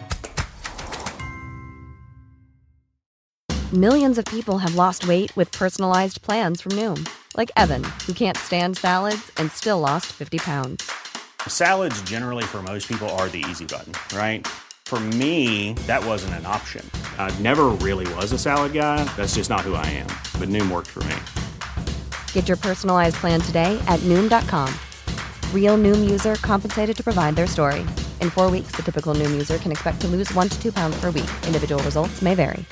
Speaker 2: Millions of people have lost weight with personalized plans from Noom. Like Evan, who can't stand salads and still lost 50 pounds.
Speaker 3: Salads generally for most people are the easy button, right? For me, that wasn't an option. I never really was a salad guy. That's just not who I am. But Noom worked for me.
Speaker 2: Get your personalized plan today at Noom.com. Real Noom user compensated to provide their story. In 4 weeks, the typical Noom user can expect to lose 1 to 2 pounds per week. Individual results may vary.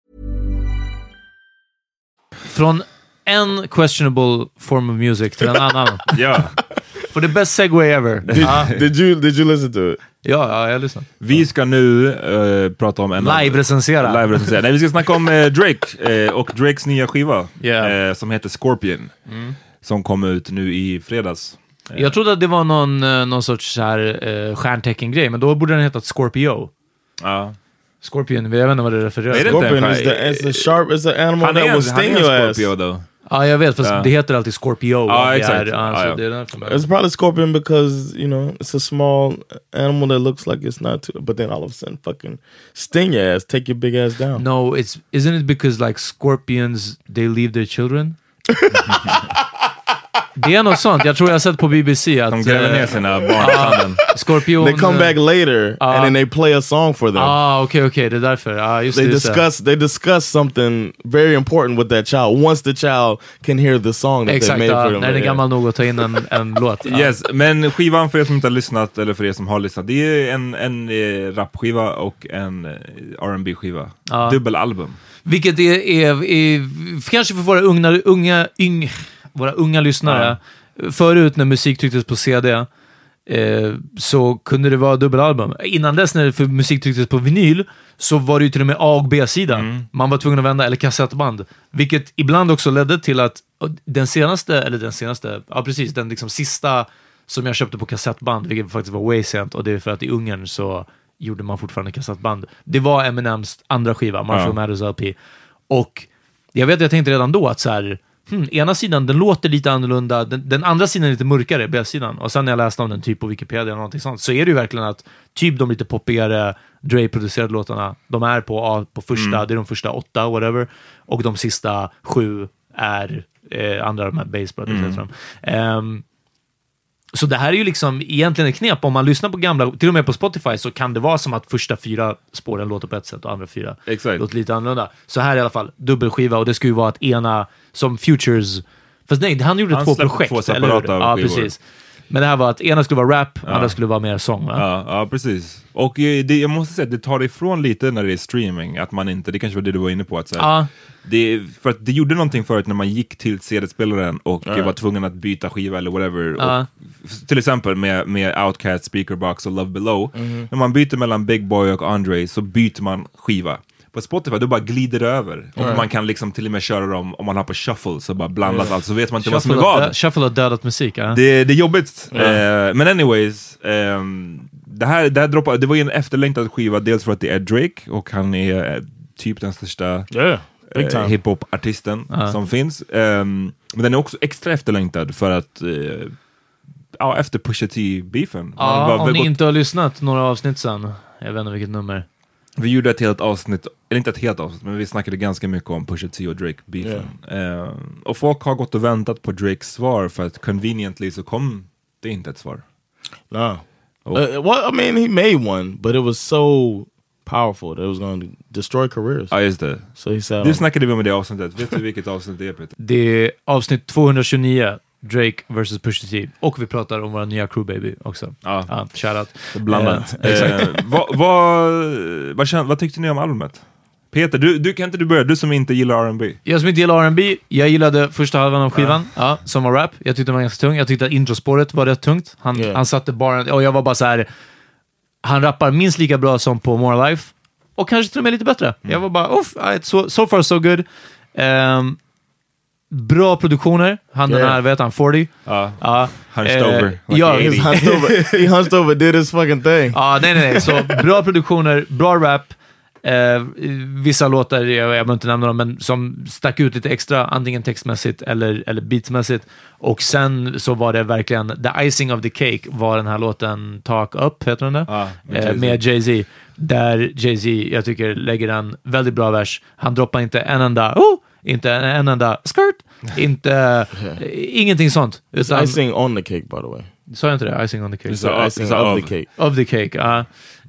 Speaker 9: Från en questionable form of music till en annan.
Speaker 7: Ja.
Speaker 9: For the best segue ever.
Speaker 8: Did you listen to it?
Speaker 9: Ja, jag lyssnade.
Speaker 7: Vi ska nu prata om en...
Speaker 9: Live-recensera.
Speaker 7: Nej, vi ska snacka om Drake och Drakes nya skiva. Som heter Scorpion. Som kom ut nu i fredags.
Speaker 9: Jag trodde att det var någon sorts så här stjärntecken-grej, men då borde den heta Scorpio.
Speaker 7: Ja.
Speaker 9: Scorpion, jag vet inte vad det refererar till.
Speaker 8: Scorpion is the animal that will sting your ass.
Speaker 9: Ja, jag vet, fast det heter alltid Scorpio.
Speaker 7: Ja, exakt.
Speaker 8: It's probably Scorpion because, you know, it's a small animal that looks like it's not too, but then all of a sudden fucking sting your ass, take your big ass down.
Speaker 9: No, isn't it because like scorpions, they leave their children? Det är något sånt. Jag tror jag har sett på BBC att...
Speaker 7: De gräver ner sina barn.
Speaker 9: Skorpion...
Speaker 8: They come back later and then they play a song for them.
Speaker 9: Okej, det är därför. Just
Speaker 8: they discuss something very important with that child once the child can hear the song that they made for them.
Speaker 9: När den är gammal nog att ta in en låt.
Speaker 7: Yes, men skivan, för er som inte har lyssnat eller för er som har lyssnat, det är en rapskiva och en R&B-skiva. Dubbelalbum.
Speaker 9: Vilket är kanske för våra unga lyssnare. Förut när musik trycktes på CD så kunde det vara dubbelalbum. Innan dess när musik trycktes på vinyl så var det ju till och med A- och B-sida. Man var tvungen att vända, eller kassettband. Vilket ibland också ledde till att den liksom sista som jag köpte på kassettband, vilket faktiskt var way sent, och det är för att i Ungern så gjorde man fortfarande kassettband. Det var Eminems andra skiva, Marshall Mathers LP. Och jag tänkte redan då att så här, ena sidan, den låter lite annorlunda, den andra sidan är lite mörkare, B-sidan. Och sen när jag läste om den typ på Wikipedia eller någonting sånt, så är det ju verkligen att typ de lite poppigare Dre-producerade låtarna, de är på första, det är de första 8, whatever, och de sista 7 är andra de här Bass Brothers, så det här är ju liksom egentligen ett knep. Om man lyssnar på gamla, till och med på Spotify, så kan det vara som att första 4 spåren låter på ett sätt och andra 4 låter lite annorlunda. Så här i alla fall, dubbelskiva, och det skulle ju vara att ena som Futures, fast nej, han gjorde 2 projekt,
Speaker 7: två separata
Speaker 9: eller hur? Ja,
Speaker 7: skivor.
Speaker 9: precis. Men det här var att ena skulle vara rap, andra skulle vara mer sång, va?
Speaker 7: Ja, precis. Och jag måste säga att det tar ifrån lite när det är streaming, att man inte, det kanske var det du var inne på, att säga, för att det gjorde någonting förut när man gick till CD-spelaren och var tvungen att byta skiva eller whatever. Och, till exempel med Outkast, Speakerbox och Love Below. När man byter mellan Big Boy och Andre så byter man skiva. På Spotify, då bara glider det över. Och man kan liksom till och med köra dem, om man har på shuffle, så bara blandas allt, så vet man inte vad som är vad.
Speaker 9: Shuffle har dödat musik,
Speaker 7: Det är jobbigt. Men anyways, det här droppade, det var ju en efterlängtad skiva, dels för att det är Drake, och han är typ den största hiphop-artisten som finns. Men den är också extra efterlängtad för att efter Pusha T-beefen.
Speaker 9: Om ni inte har lyssnat några avsnitt sen, jag vet inte vilket nummer.
Speaker 7: Vi gjorde ett helt avsnitt, eller inte ett helt avsnitt, men vi snackade ganska mycket om Pusha T och Drake-beefen. Och folk har gått och väntat på Drakes svar, för att conveniently så kom det inte ett svar.
Speaker 8: No. Well, I mean, he made one, but it was so powerful that it was going to destroy careers.
Speaker 7: Ja, just det.
Speaker 8: So he said,
Speaker 7: det snackade vi om i det avsnittet. Vet du vilket avsnitt det är, Peter?
Speaker 9: Det är avsnitt 229. Drake versus Pusha T. Och vi pratar om våra nya Crew Baby också. Shoutout.
Speaker 7: Blandat. Vad tyckte ni om albumet? Peter, du kan inte du börja? Du som inte gillar R&B.
Speaker 9: Jag som inte gillar R&B, jag gillade första halvan av skivan, som var rap. Jag tyckte den var ganska tung. Jag tyckte att introspåret var rätt tungt. Han satte bara, och jag var bara så här, han rappar minst lika bra som på More Life. Och kanske till och med lite bättre. Jag var bara, so far so good. Bra produktioner. Han den här, vet han, 40.
Speaker 7: Hunched over.
Speaker 8: He hunched over, did his fucking thing.
Speaker 9: Nej. Så bra produktioner, bra rap. Vissa låtar, jag behöver inte nämna dem, men som stack ut lite extra, antingen textmässigt eller beatsmässigt. Och sen så var det verkligen, the icing of the cake var den här låten Talk Up, heter den det? Med Jay-Z. Där Jay-Z, jag tycker, lägger en väldigt bra vers. Han droppar inte en enda skirt, ingenting sånt.
Speaker 8: It's icing on the cake, by the way.
Speaker 9: Sa jag inte det? Icing on the cake.
Speaker 8: It's icing of the cake.
Speaker 9: Of the cake,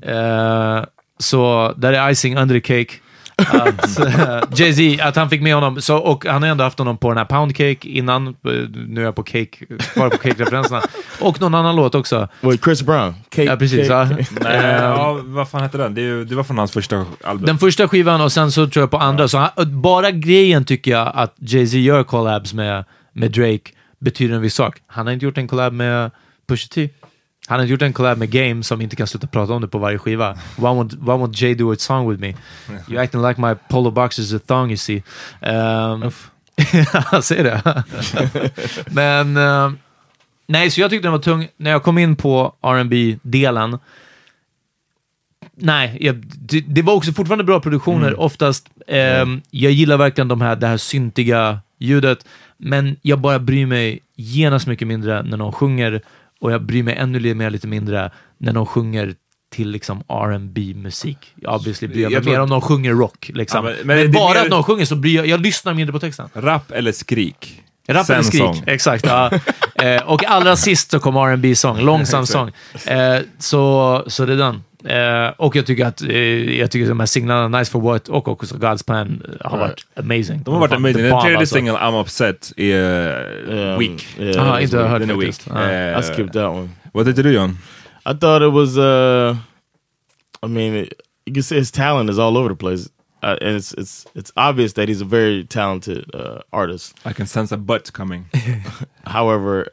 Speaker 9: så där är icing under the cake. Jay-Z, att han fick med honom, så, och han har ändå haft honom på den här Pound Cake innan. Nu är jag på cake, kvar på cake-referenserna. Och någon annan låt också.
Speaker 8: With Chris Brown. Cake,
Speaker 9: ja, precis.
Speaker 8: Cake.
Speaker 7: Vad fan hette den? Det var från hans första album.
Speaker 9: Den första skivan, och sen så tror jag på andra. Så bara grejen tycker jag att Jay-Z gör collabs med Drake betyder en viss sak. Han har inte gjort en collab med Pusha T. Han har gjort en collab med Game som inte kan sluta prata om det på varje skiva. Why won't Jay do a song with me? You acting like my polo box is a thong, you see. Jag ser det. Men nej, så jag tyckte den var tung. När jag kom in på R&B-delen, det var också fortfarande bra produktioner. Oftast, jag gillar verkligen det här syntiga ljudet, men jag bara bryr mig genast mycket mindre när någon sjunger. Och jag bryr mig ännu lite mindre när de sjunger till liksom R&B-musik. Obviously bryr jag mig mer om de sjunger rock. Liksom. Ja, men bara mer att de sjunger så bryr jag lyssnar mindre på texten.
Speaker 7: Rap eller skrik?
Speaker 9: Rap eller skrik, sång. Exakt. Ja. Och allra sist så kom R&B-sång, långsam sång. Så det är den. Och jag tycker att de här singlarna Nice for What och också God's Plan har varit amazing.
Speaker 7: De har varit amazing. Den tredje singeln I'm Upset är weak.
Speaker 9: Inte hört
Speaker 7: den är weak.
Speaker 8: I skipped that one.
Speaker 7: Vad tyckte du, John?
Speaker 8: I thought it was I mean, you can see his talent is all over the place. And it's obvious that he's a very talented artist.
Speaker 7: I can sense a butt coming.
Speaker 8: However,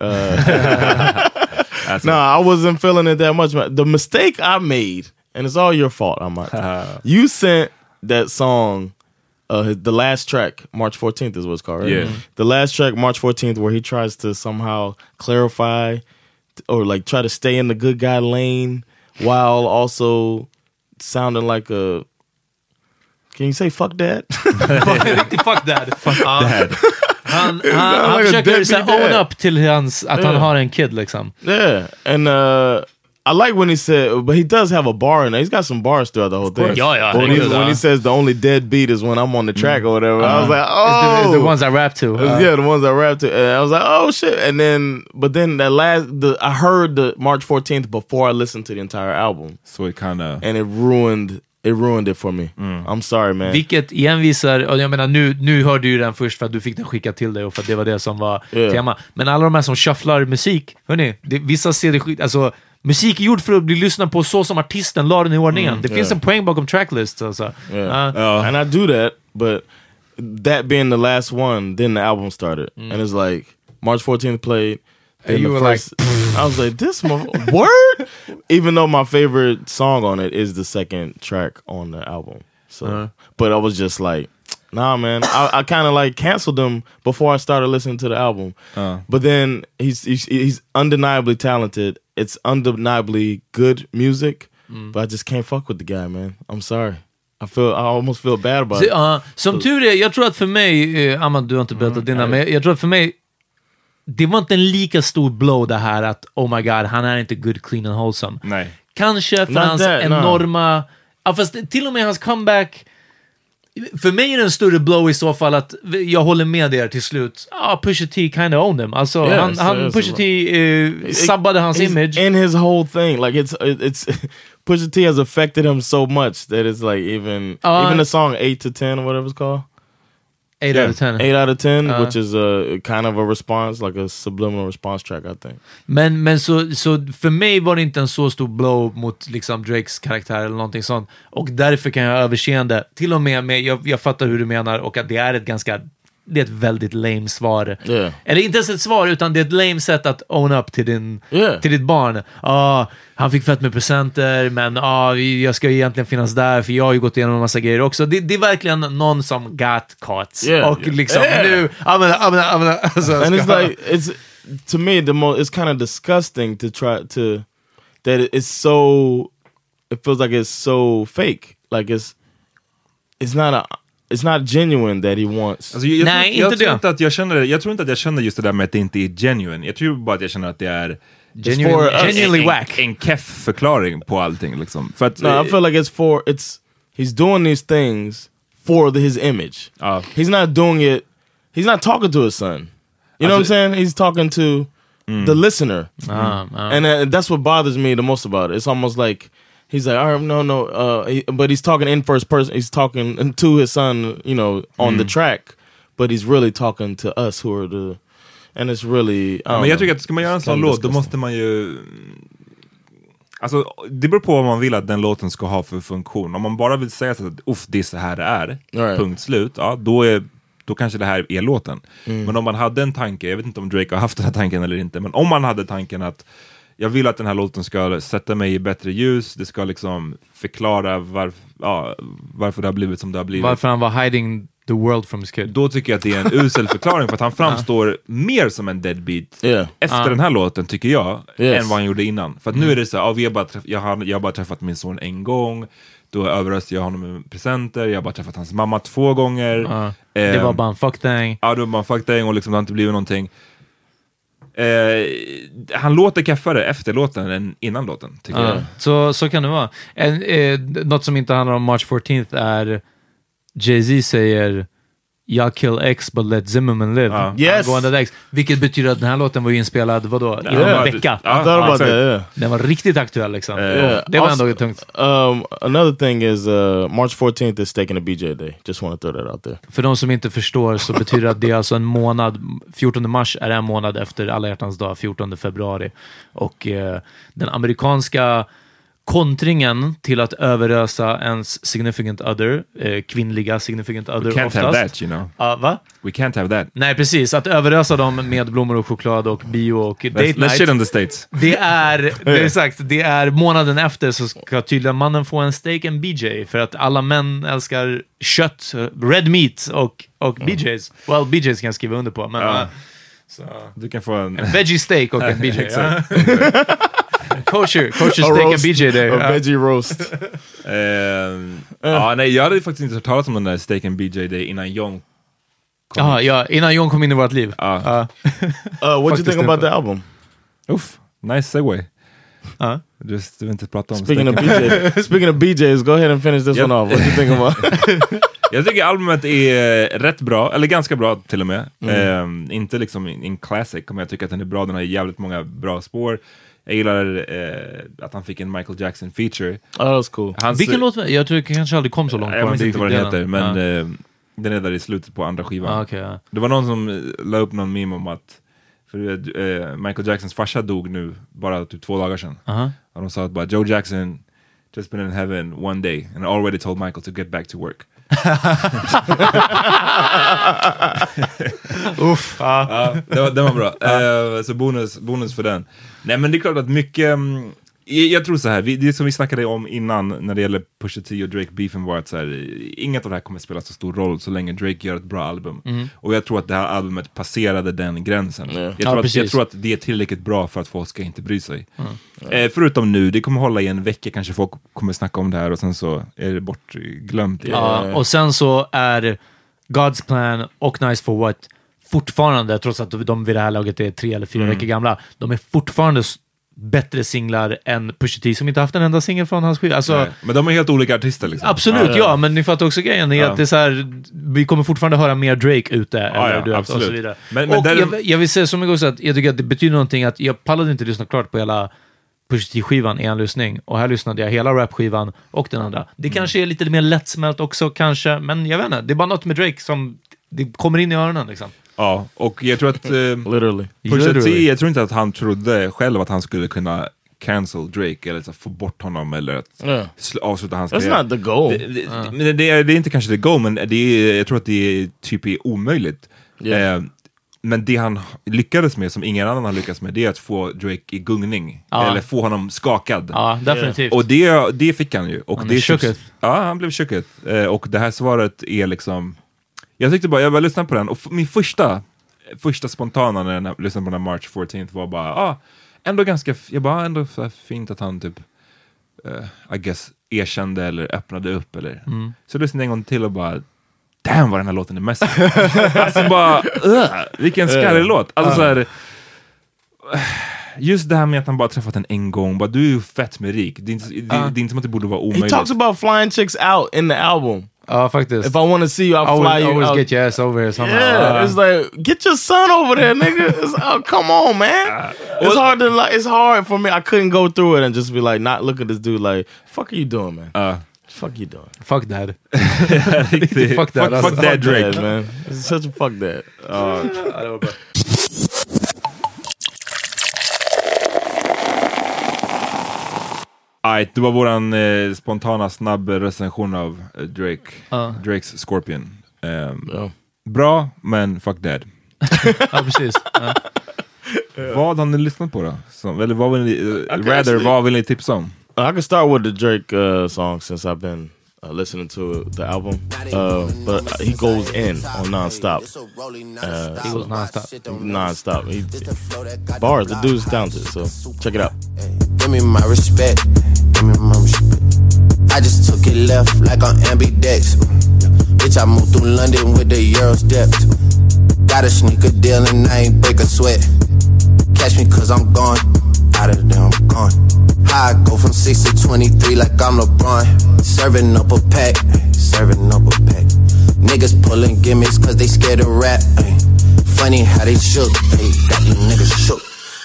Speaker 8: no, I wasn't feeling it that much. The mistake I made, and it's all your fault, Ahmad. You sent that song, the last track, March 14th is what it's called, right?
Speaker 7: Yeah.
Speaker 8: The last track, March 14th, where he tries to somehow clarify or like try to stay in the good guy lane while also sounding like a... Can you say fuck dad?
Speaker 9: Fuck dad.
Speaker 7: Fuck dad.
Speaker 9: Han försöker såhär own up till att han har en kid liksom.
Speaker 8: Yeah, and I like when he said, but he does have a bar in there. He's got some bars throughout the whole thing.
Speaker 9: Yeah.
Speaker 8: When he says the only dead beat is when I'm on the track or whatever, I was like, oh,
Speaker 9: it's the ones I rap to.
Speaker 8: Yeah, the ones I rap to. And I was like, oh shit. And then, but then I heard the March 14th before I listened to the entire album.
Speaker 7: So it kind of,
Speaker 8: and it ruined it for me. I'm sorry, man.
Speaker 9: Vilket igen visar, och jag menar nu hörde ju den först för att du fick den skickad till dig och för att det var det som var tema. Men alla de här som shufflar musik, hörni, vissa ser det skit, alltså musik är gjord för att bli lyssnad på så som artisten la den i ordningen. Det finns en poäng bakom tracklists alltså.
Speaker 8: And I do that, but that being the last one, then the album started. And it's like March 14th played. And you were like, I was like, this word? Even though my favorite song on it is the second track on the album. So, but I was just like, nah, man. I kind of like canceled them before I started listening to the album. But then he's undeniably talented. It's undeniably good music. But I just can't fuck with the guy, man. I'm sorry. I almost feel bad about it.
Speaker 9: Som tur är, jag tror att för mig, Ahmad, du har inte berättat dina, men jag tror att för mig det var inte en lika stor blow det här att oh my god, han är inte good, clean and wholesome.
Speaker 7: Nej.
Speaker 9: Kanske för hans enorma... Ja, fast till och med hans comeback... För mig är det en större blow i så fall att jag håller med er till slut. Pusha T kind of owned him. Alltså, han Pusha T sabbade hans image.
Speaker 8: And his whole thing. Like, it's Pusha T has affected him so much that it's like even the song 8 to 10 or whatever it's called.
Speaker 9: 8 out of 10.
Speaker 8: 8 out of 10, which is a kind of a response, like a subliminal response track, I think.
Speaker 9: Men så för mig var det inte en så stor blow mot liksom Drakes karaktär eller någonting sånt. Och därför kan jag överseende, till och med jag fattar hur du menar och att det är ett väldigt lame svar.
Speaker 8: Yeah.
Speaker 9: Eller inte ens ett svar, utan det är ett lame sätt att own up till ditt barn. Han fick fett med presenter, men jag ska egentligen finnas där för jag har ju gått igenom en massa grejer också. Det är verkligen någon som got caught. Och liksom nu alltså,
Speaker 8: and it's like, it's to me it's kind of disgusting to try to that it feels like it's so fake. Like it's not genuine that he wants.
Speaker 7: Alltså, jag tror inte att jag känner just det där med att det inte är genuine. Jag tror bara att jag känner att det är
Speaker 9: genuinely whack.
Speaker 7: En keff förklaring på allting liksom. För att,
Speaker 8: I feel like he's doing these things for his image. He's not doing it. He's not talking to his son. You know what I'm saying? He's talking to the listener. And that's what bothers me the most about it. It's almost like he's like, all right, no, but he's talking in first person. He's talking to his son, you know, on the track, but he's really talking to us who are the, and it's really...
Speaker 7: men jag tycker att ska man göra en sån låt, då måste man ju... Alltså, det beror på vad man vill att den låten ska ha för funktion. Om man bara vill säga så att det är så här det är, punkt slut, då kanske det här är låten. Men om man hade en tanke, jag vet inte om Drake har haft den här tanken eller inte, men om man hade tanken att jag vill att den här låten ska sätta mig i bättre ljus. Det ska liksom förklara varför det har blivit som det har blivit.
Speaker 9: Varför han var hiding the world from his kid.
Speaker 7: Då tycker jag att det är en usel förklaring för att han framstår mer som en deadbeat efter den här låten, tycker jag, än vad han gjorde innan. För att nu är det så här, jag har bara träffat min son en gång. Då överröstade jag honom med presenter. Jag har bara träffat hans mamma 2 gånger.
Speaker 9: Det var bara en fuck thing.
Speaker 7: Ja, det var bara en fuck thing och liksom det har inte blivit någonting. Han låter kaffare efter låten än innan låten, tycker jag.
Speaker 9: Så kan det vara. Något som inte handlar om March 14th är Jay-Z säger jag kill X but let Zimmerman live.
Speaker 8: Yes.
Speaker 9: X, vilket betyder att den här låten var ju inspelad inom en vecka. Den var riktigt aktuell liksom. Det var ändå tungt.
Speaker 8: Another thing is March 14th is taking a BJ day. Just want to throw that out there.
Speaker 9: För de som inte förstår så betyder det att det är alltså en månad, 14 mars är en månad efter Alla hjärtans dag, 14 februari. Och den amerikanska kontringen till att överösa ens significant other, kvinnliga significant other oftast.
Speaker 7: We can't have that, you know.
Speaker 9: Va?
Speaker 7: We can't have that.
Speaker 9: Nej, precis. Att överösa dem med blommor och choklad och bio och date night.
Speaker 7: Let's shit on the States.
Speaker 9: Det är månaden efter så ska tydligen mannen få en steak and BJ för att alla män älskar kött, red meat och BJs. Well, BJs kan jag skriva under på, men så
Speaker 7: du kan få en
Speaker 9: veggie steak och en BJ. Kosher steak and BJ där.
Speaker 8: A veggie roast.
Speaker 7: Nej, jag hade faktiskt inte hört talas om den där steak and BJ day innan John
Speaker 9: Ja, innan John kom in i vårt liv.
Speaker 8: What do you think about the album?
Speaker 7: Uff, nice segue. Just inte prata om
Speaker 8: Speaking of BJs, go ahead and finish this one off. What do you think about?
Speaker 7: Jag tycker albumet är rätt bra, eller ganska bra till och med. Inte liksom en classic, men jag tycker att den är bra. Den har jävligt många bra spår. Jag gillar att han fick en Michael Jackson feature.
Speaker 8: That's cool.
Speaker 9: Vilken låt? Jag tror det kanske aldrig kom så långt.
Speaker 7: Jag minns inte vad den heter, men den är där i slutet på andra skivan. Det var någon som la upp någon meme om att för Michael Jacksons farsa dog nu bara typ 2 dagar sedan. Och de sa att bara Joe Jackson just been in heaven one day and already told Michael to get back to work.
Speaker 9: Uff.
Speaker 7: Det var bra. Så bonus för den. Nej, men det är klart att mycket jag tror så här, det som vi snackade om innan när det gäller Pusha T och Drake beefen var att så här, inget av det här kommer spela så stor roll så länge Drake gör ett bra album. Och jag tror att det här albumet passerade den gränsen. Jag tror att det är tillräckligt bra för att folk ska inte bry sig. Förutom nu, det kommer hålla i en vecka, kanske folk kommer snacka om det här och sen så är det bortglömt.
Speaker 9: Och sen så är God's Plan och Nice for What fortfarande, trots att de vid det här laget är 3 eller 4 veckor gamla, de är fortfarande bättre singlar än Pusha T som inte haft en enda singel från hans skiva. Alltså,
Speaker 7: men de är helt olika artister liksom.
Speaker 9: Absolut, ja, men ni fattar också grejen är att det är så här, vi kommer fortfarande höra mer Drake ute eller och så vidare. Men och jag vill säga som jag att jag tycker att det betyder någonting att jag pallade inte lyssna klart på hela Pusha T-skivan i en lyssning, och här lyssnade jag hela rap-skivan och den andra. Det kanske är lite mer lättsmält också kanske, men jag vet inte, det är bara något med Drake som det kommer in i öronen liksom.
Speaker 7: Ja, och jag tror att Pusha T, jag tror inte att han trodde själv att han skulle kunna cancel Drake eller så få bort honom eller att avsluta hans karriär.
Speaker 8: That's not the goal.
Speaker 7: Det är inte kanske the goal, men jag tror att det är typ omöjligt. Men det han lyckades med, som ingen annan har lyckats med, det är att få Drake i gungning. Eller få honom skakad.
Speaker 9: Ja, definitivt.
Speaker 7: Och det fick han ju. Och det han blev shooked. Och det här svaret är liksom, jag tyckte bara, jag bara lyssnade på den, och min första spontana när jag lyssnade på den March 14th var bara, ändå ganska, jag bara, ändå fint att han typ I guess erkände eller öppnade upp eller. Så lyssnade jag en gång till och bara, damn vad den här låten är mest. Alltså bara, vilken skarrig låt. Alltså så här, just det här med att han bara träffat en gång, bara, du är ju fett med rik. Det är inte som att det borde vara omöjligt.
Speaker 8: He talks about flying chicks out in the album.
Speaker 9: Faktiskt.
Speaker 8: If I want to see you, I'll fly you
Speaker 9: always
Speaker 8: out.
Speaker 9: Get your ass over here somehow.
Speaker 8: Yeah, it's like, get your son over there, nigga. Come on, man. It's hard for me. I couldn't go through it and just be like, not look at this dude like, fuck are you doing, man? Fuck you doing?
Speaker 9: Fuck that.
Speaker 7: Fuck that. Fuck that Drake,
Speaker 8: that, man. It's such a fuck that.
Speaker 9: Det var bra.
Speaker 7: Det var våran spontana snabb recension av Drakes Scorpion. Bra, men fuck that.
Speaker 9: Ja, precis.
Speaker 7: Vad har ni lyssnat på då? Eller vad vill ni tipsa om?
Speaker 8: I can start with the Drake song since I've been listening to the album. But he goes in on non-stop.
Speaker 9: He goes non-stop.
Speaker 8: Non-stop. Bars, the dude's talented, so check it out.
Speaker 12: Give me my respect. Give me my respect. I just took it left like on ambidex. Bitch, I moved through London with the Euro steps. Got a sneaker deal and I ain't break a sweat. Catch me cause I'm gone. Out of there, I'm gone. How I go from 6 to 23 like I'm LeBron. Serving up a pack. Serving up a pack. Niggas pulling gimmicks cause they scared of rap. Funny how they shook. Got these niggas shook.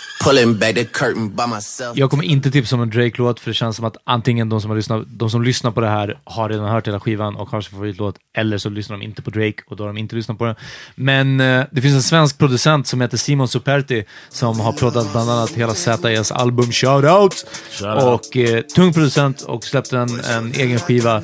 Speaker 9: Jag kommer inte tipsa om en Drake-låt, för det känns som att antingen de som lyssnar på det här har redan hört hela skivan och har sin favoritlåt, eller så lyssnar de inte på Drake och då har de inte lyssnat på den. Men det finns en svensk producent som heter Simon Superti som har proddat bland annat hela ZS album Shoutout. Och tung producent och släppte en egen skiva.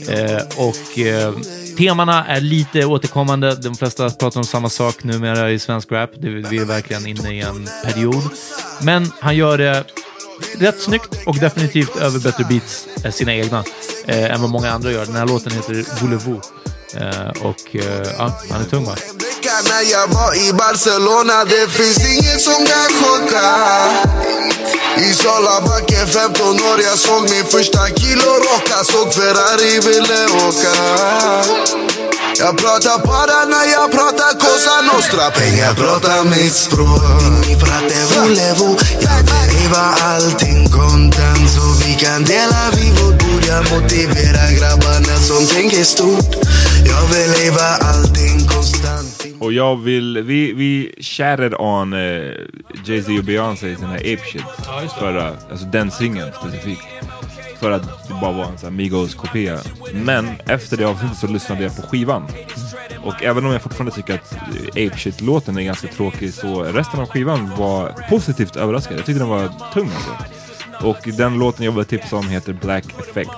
Speaker 9: Temana är lite återkommande. De flesta pratar om samma sak numera i svensk rap. Vi är verkligen inne i en period. Men han gör det rätt snyggt och definitivt över bättre beats sina egna än vad många andra gör. Den här låten heter Voulez-vous. Han är tung, va?
Speaker 12: När jag var i Barcelona, det finns inget som kan chocka. I Salabacken 15 år, jag såg min första kilo rocka. Såg Ferrari ville åka.
Speaker 13: Jag pratar bara när jag pratar Cosa Nostra. Pengar pratar mitt språk. Dimmi frate volevo. Jag vill leva allting kontant så vi kan dela vivo. Borde motivera grabbarna som tänker stort. Jag vill leva allting konstant.
Speaker 7: Och jag vill, vi chatted on Jay-Z och Beyoncé i den här Ape Shit. För alltså den singeln specifikt. För att det bara var en sån här Migos-kopia. Men efter det avsnittet så lyssnade jag på skivan. Och även om jag fortfarande tycker att Ape Shit-låten är ganska tråkig, så resten av skivan var positivt överraskad. Jag tyckte den var tung alltså. Och den låten jag vill tipsa om heter Black Effect.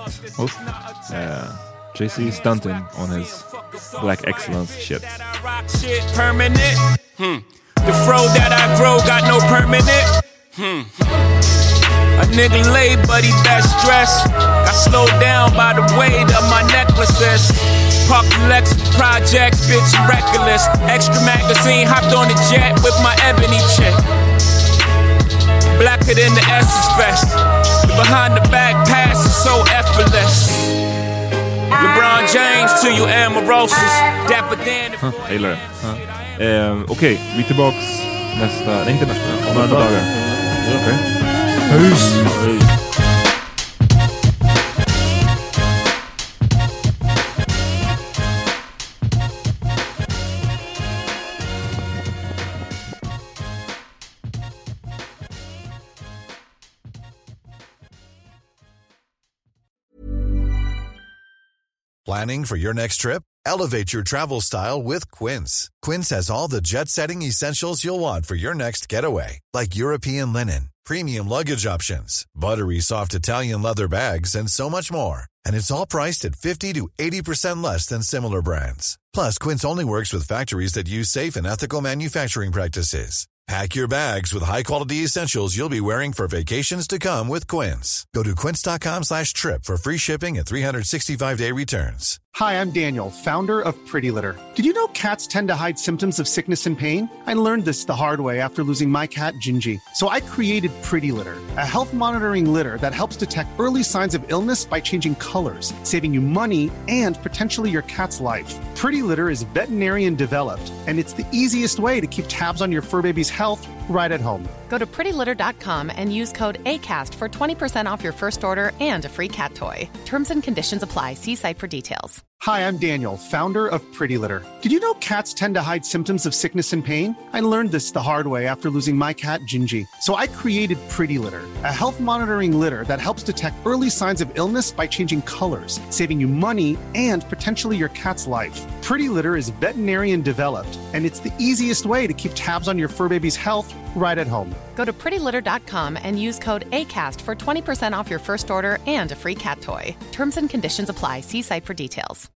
Speaker 7: Jay-Z stunting on his Black Excellence shit.
Speaker 14: The fro that I grow got no permanent. A nigga lay, but he best dressed. Got slowed down by the weight of my necklaces. Parked the Lex projects, bitch, reckless. Extra magazine, hopped on the jet with my ebony chick. Blacker than the Essence Fest. The behind the back pass is so effortless. LeBron James to you Amorosos. Dapper Dan.
Speaker 7: Jag gillar det. Okej, vi är tillbaks nästa, nej inte nästa, om några dagar. Okej. Peace.
Speaker 1: Planning for your next trip? Elevate your travel style with Quince. Quince has all the jet-setting essentials you'll want for your next getaway, like European linen, premium luggage options, buttery soft Italian leather bags, and so much more. And it's all priced at 50 to 80% less than similar brands. Plus, Quince only works with factories that use safe and ethical manufacturing practices. Pack your bags with high-quality essentials you'll be wearing for vacations to come with Quince. Go to quince.com/trip for free shipping and 365-day returns.
Speaker 15: Hi, I'm Daniel, founder of Pretty Litter. Did you know cats tend to hide symptoms of sickness and pain? I learned this the hard way after losing my cat, Gingy. So I created Pretty Litter, a health monitoring litter that helps detect early signs of illness by changing colors, saving you money and potentially your cat's life. Pretty Litter is veterinarian developed, and it's the easiest way to keep tabs on your fur baby's health right at home.
Speaker 16: Go to prettylitter.com and use code ACAST for 20% off your first order and a free cat toy. Terms and conditions apply. See site for details.
Speaker 15: Hi, I'm Daniel, founder of Pretty Litter. Did you know cats tend to hide symptoms of sickness and pain? I learned this the hard way after losing my cat, Gingy. So I created Pretty Litter, a health monitoring litter that helps detect early signs of illness by changing colors, saving you money and potentially your cat's life. Pretty Litter is veterinarian developed, and it's the easiest way to keep tabs on your fur baby's health right at home.
Speaker 16: Go to prettylitter.com and use code ACAST for 20% off your first order and a free cat toy. Terms and conditions apply. See site for details.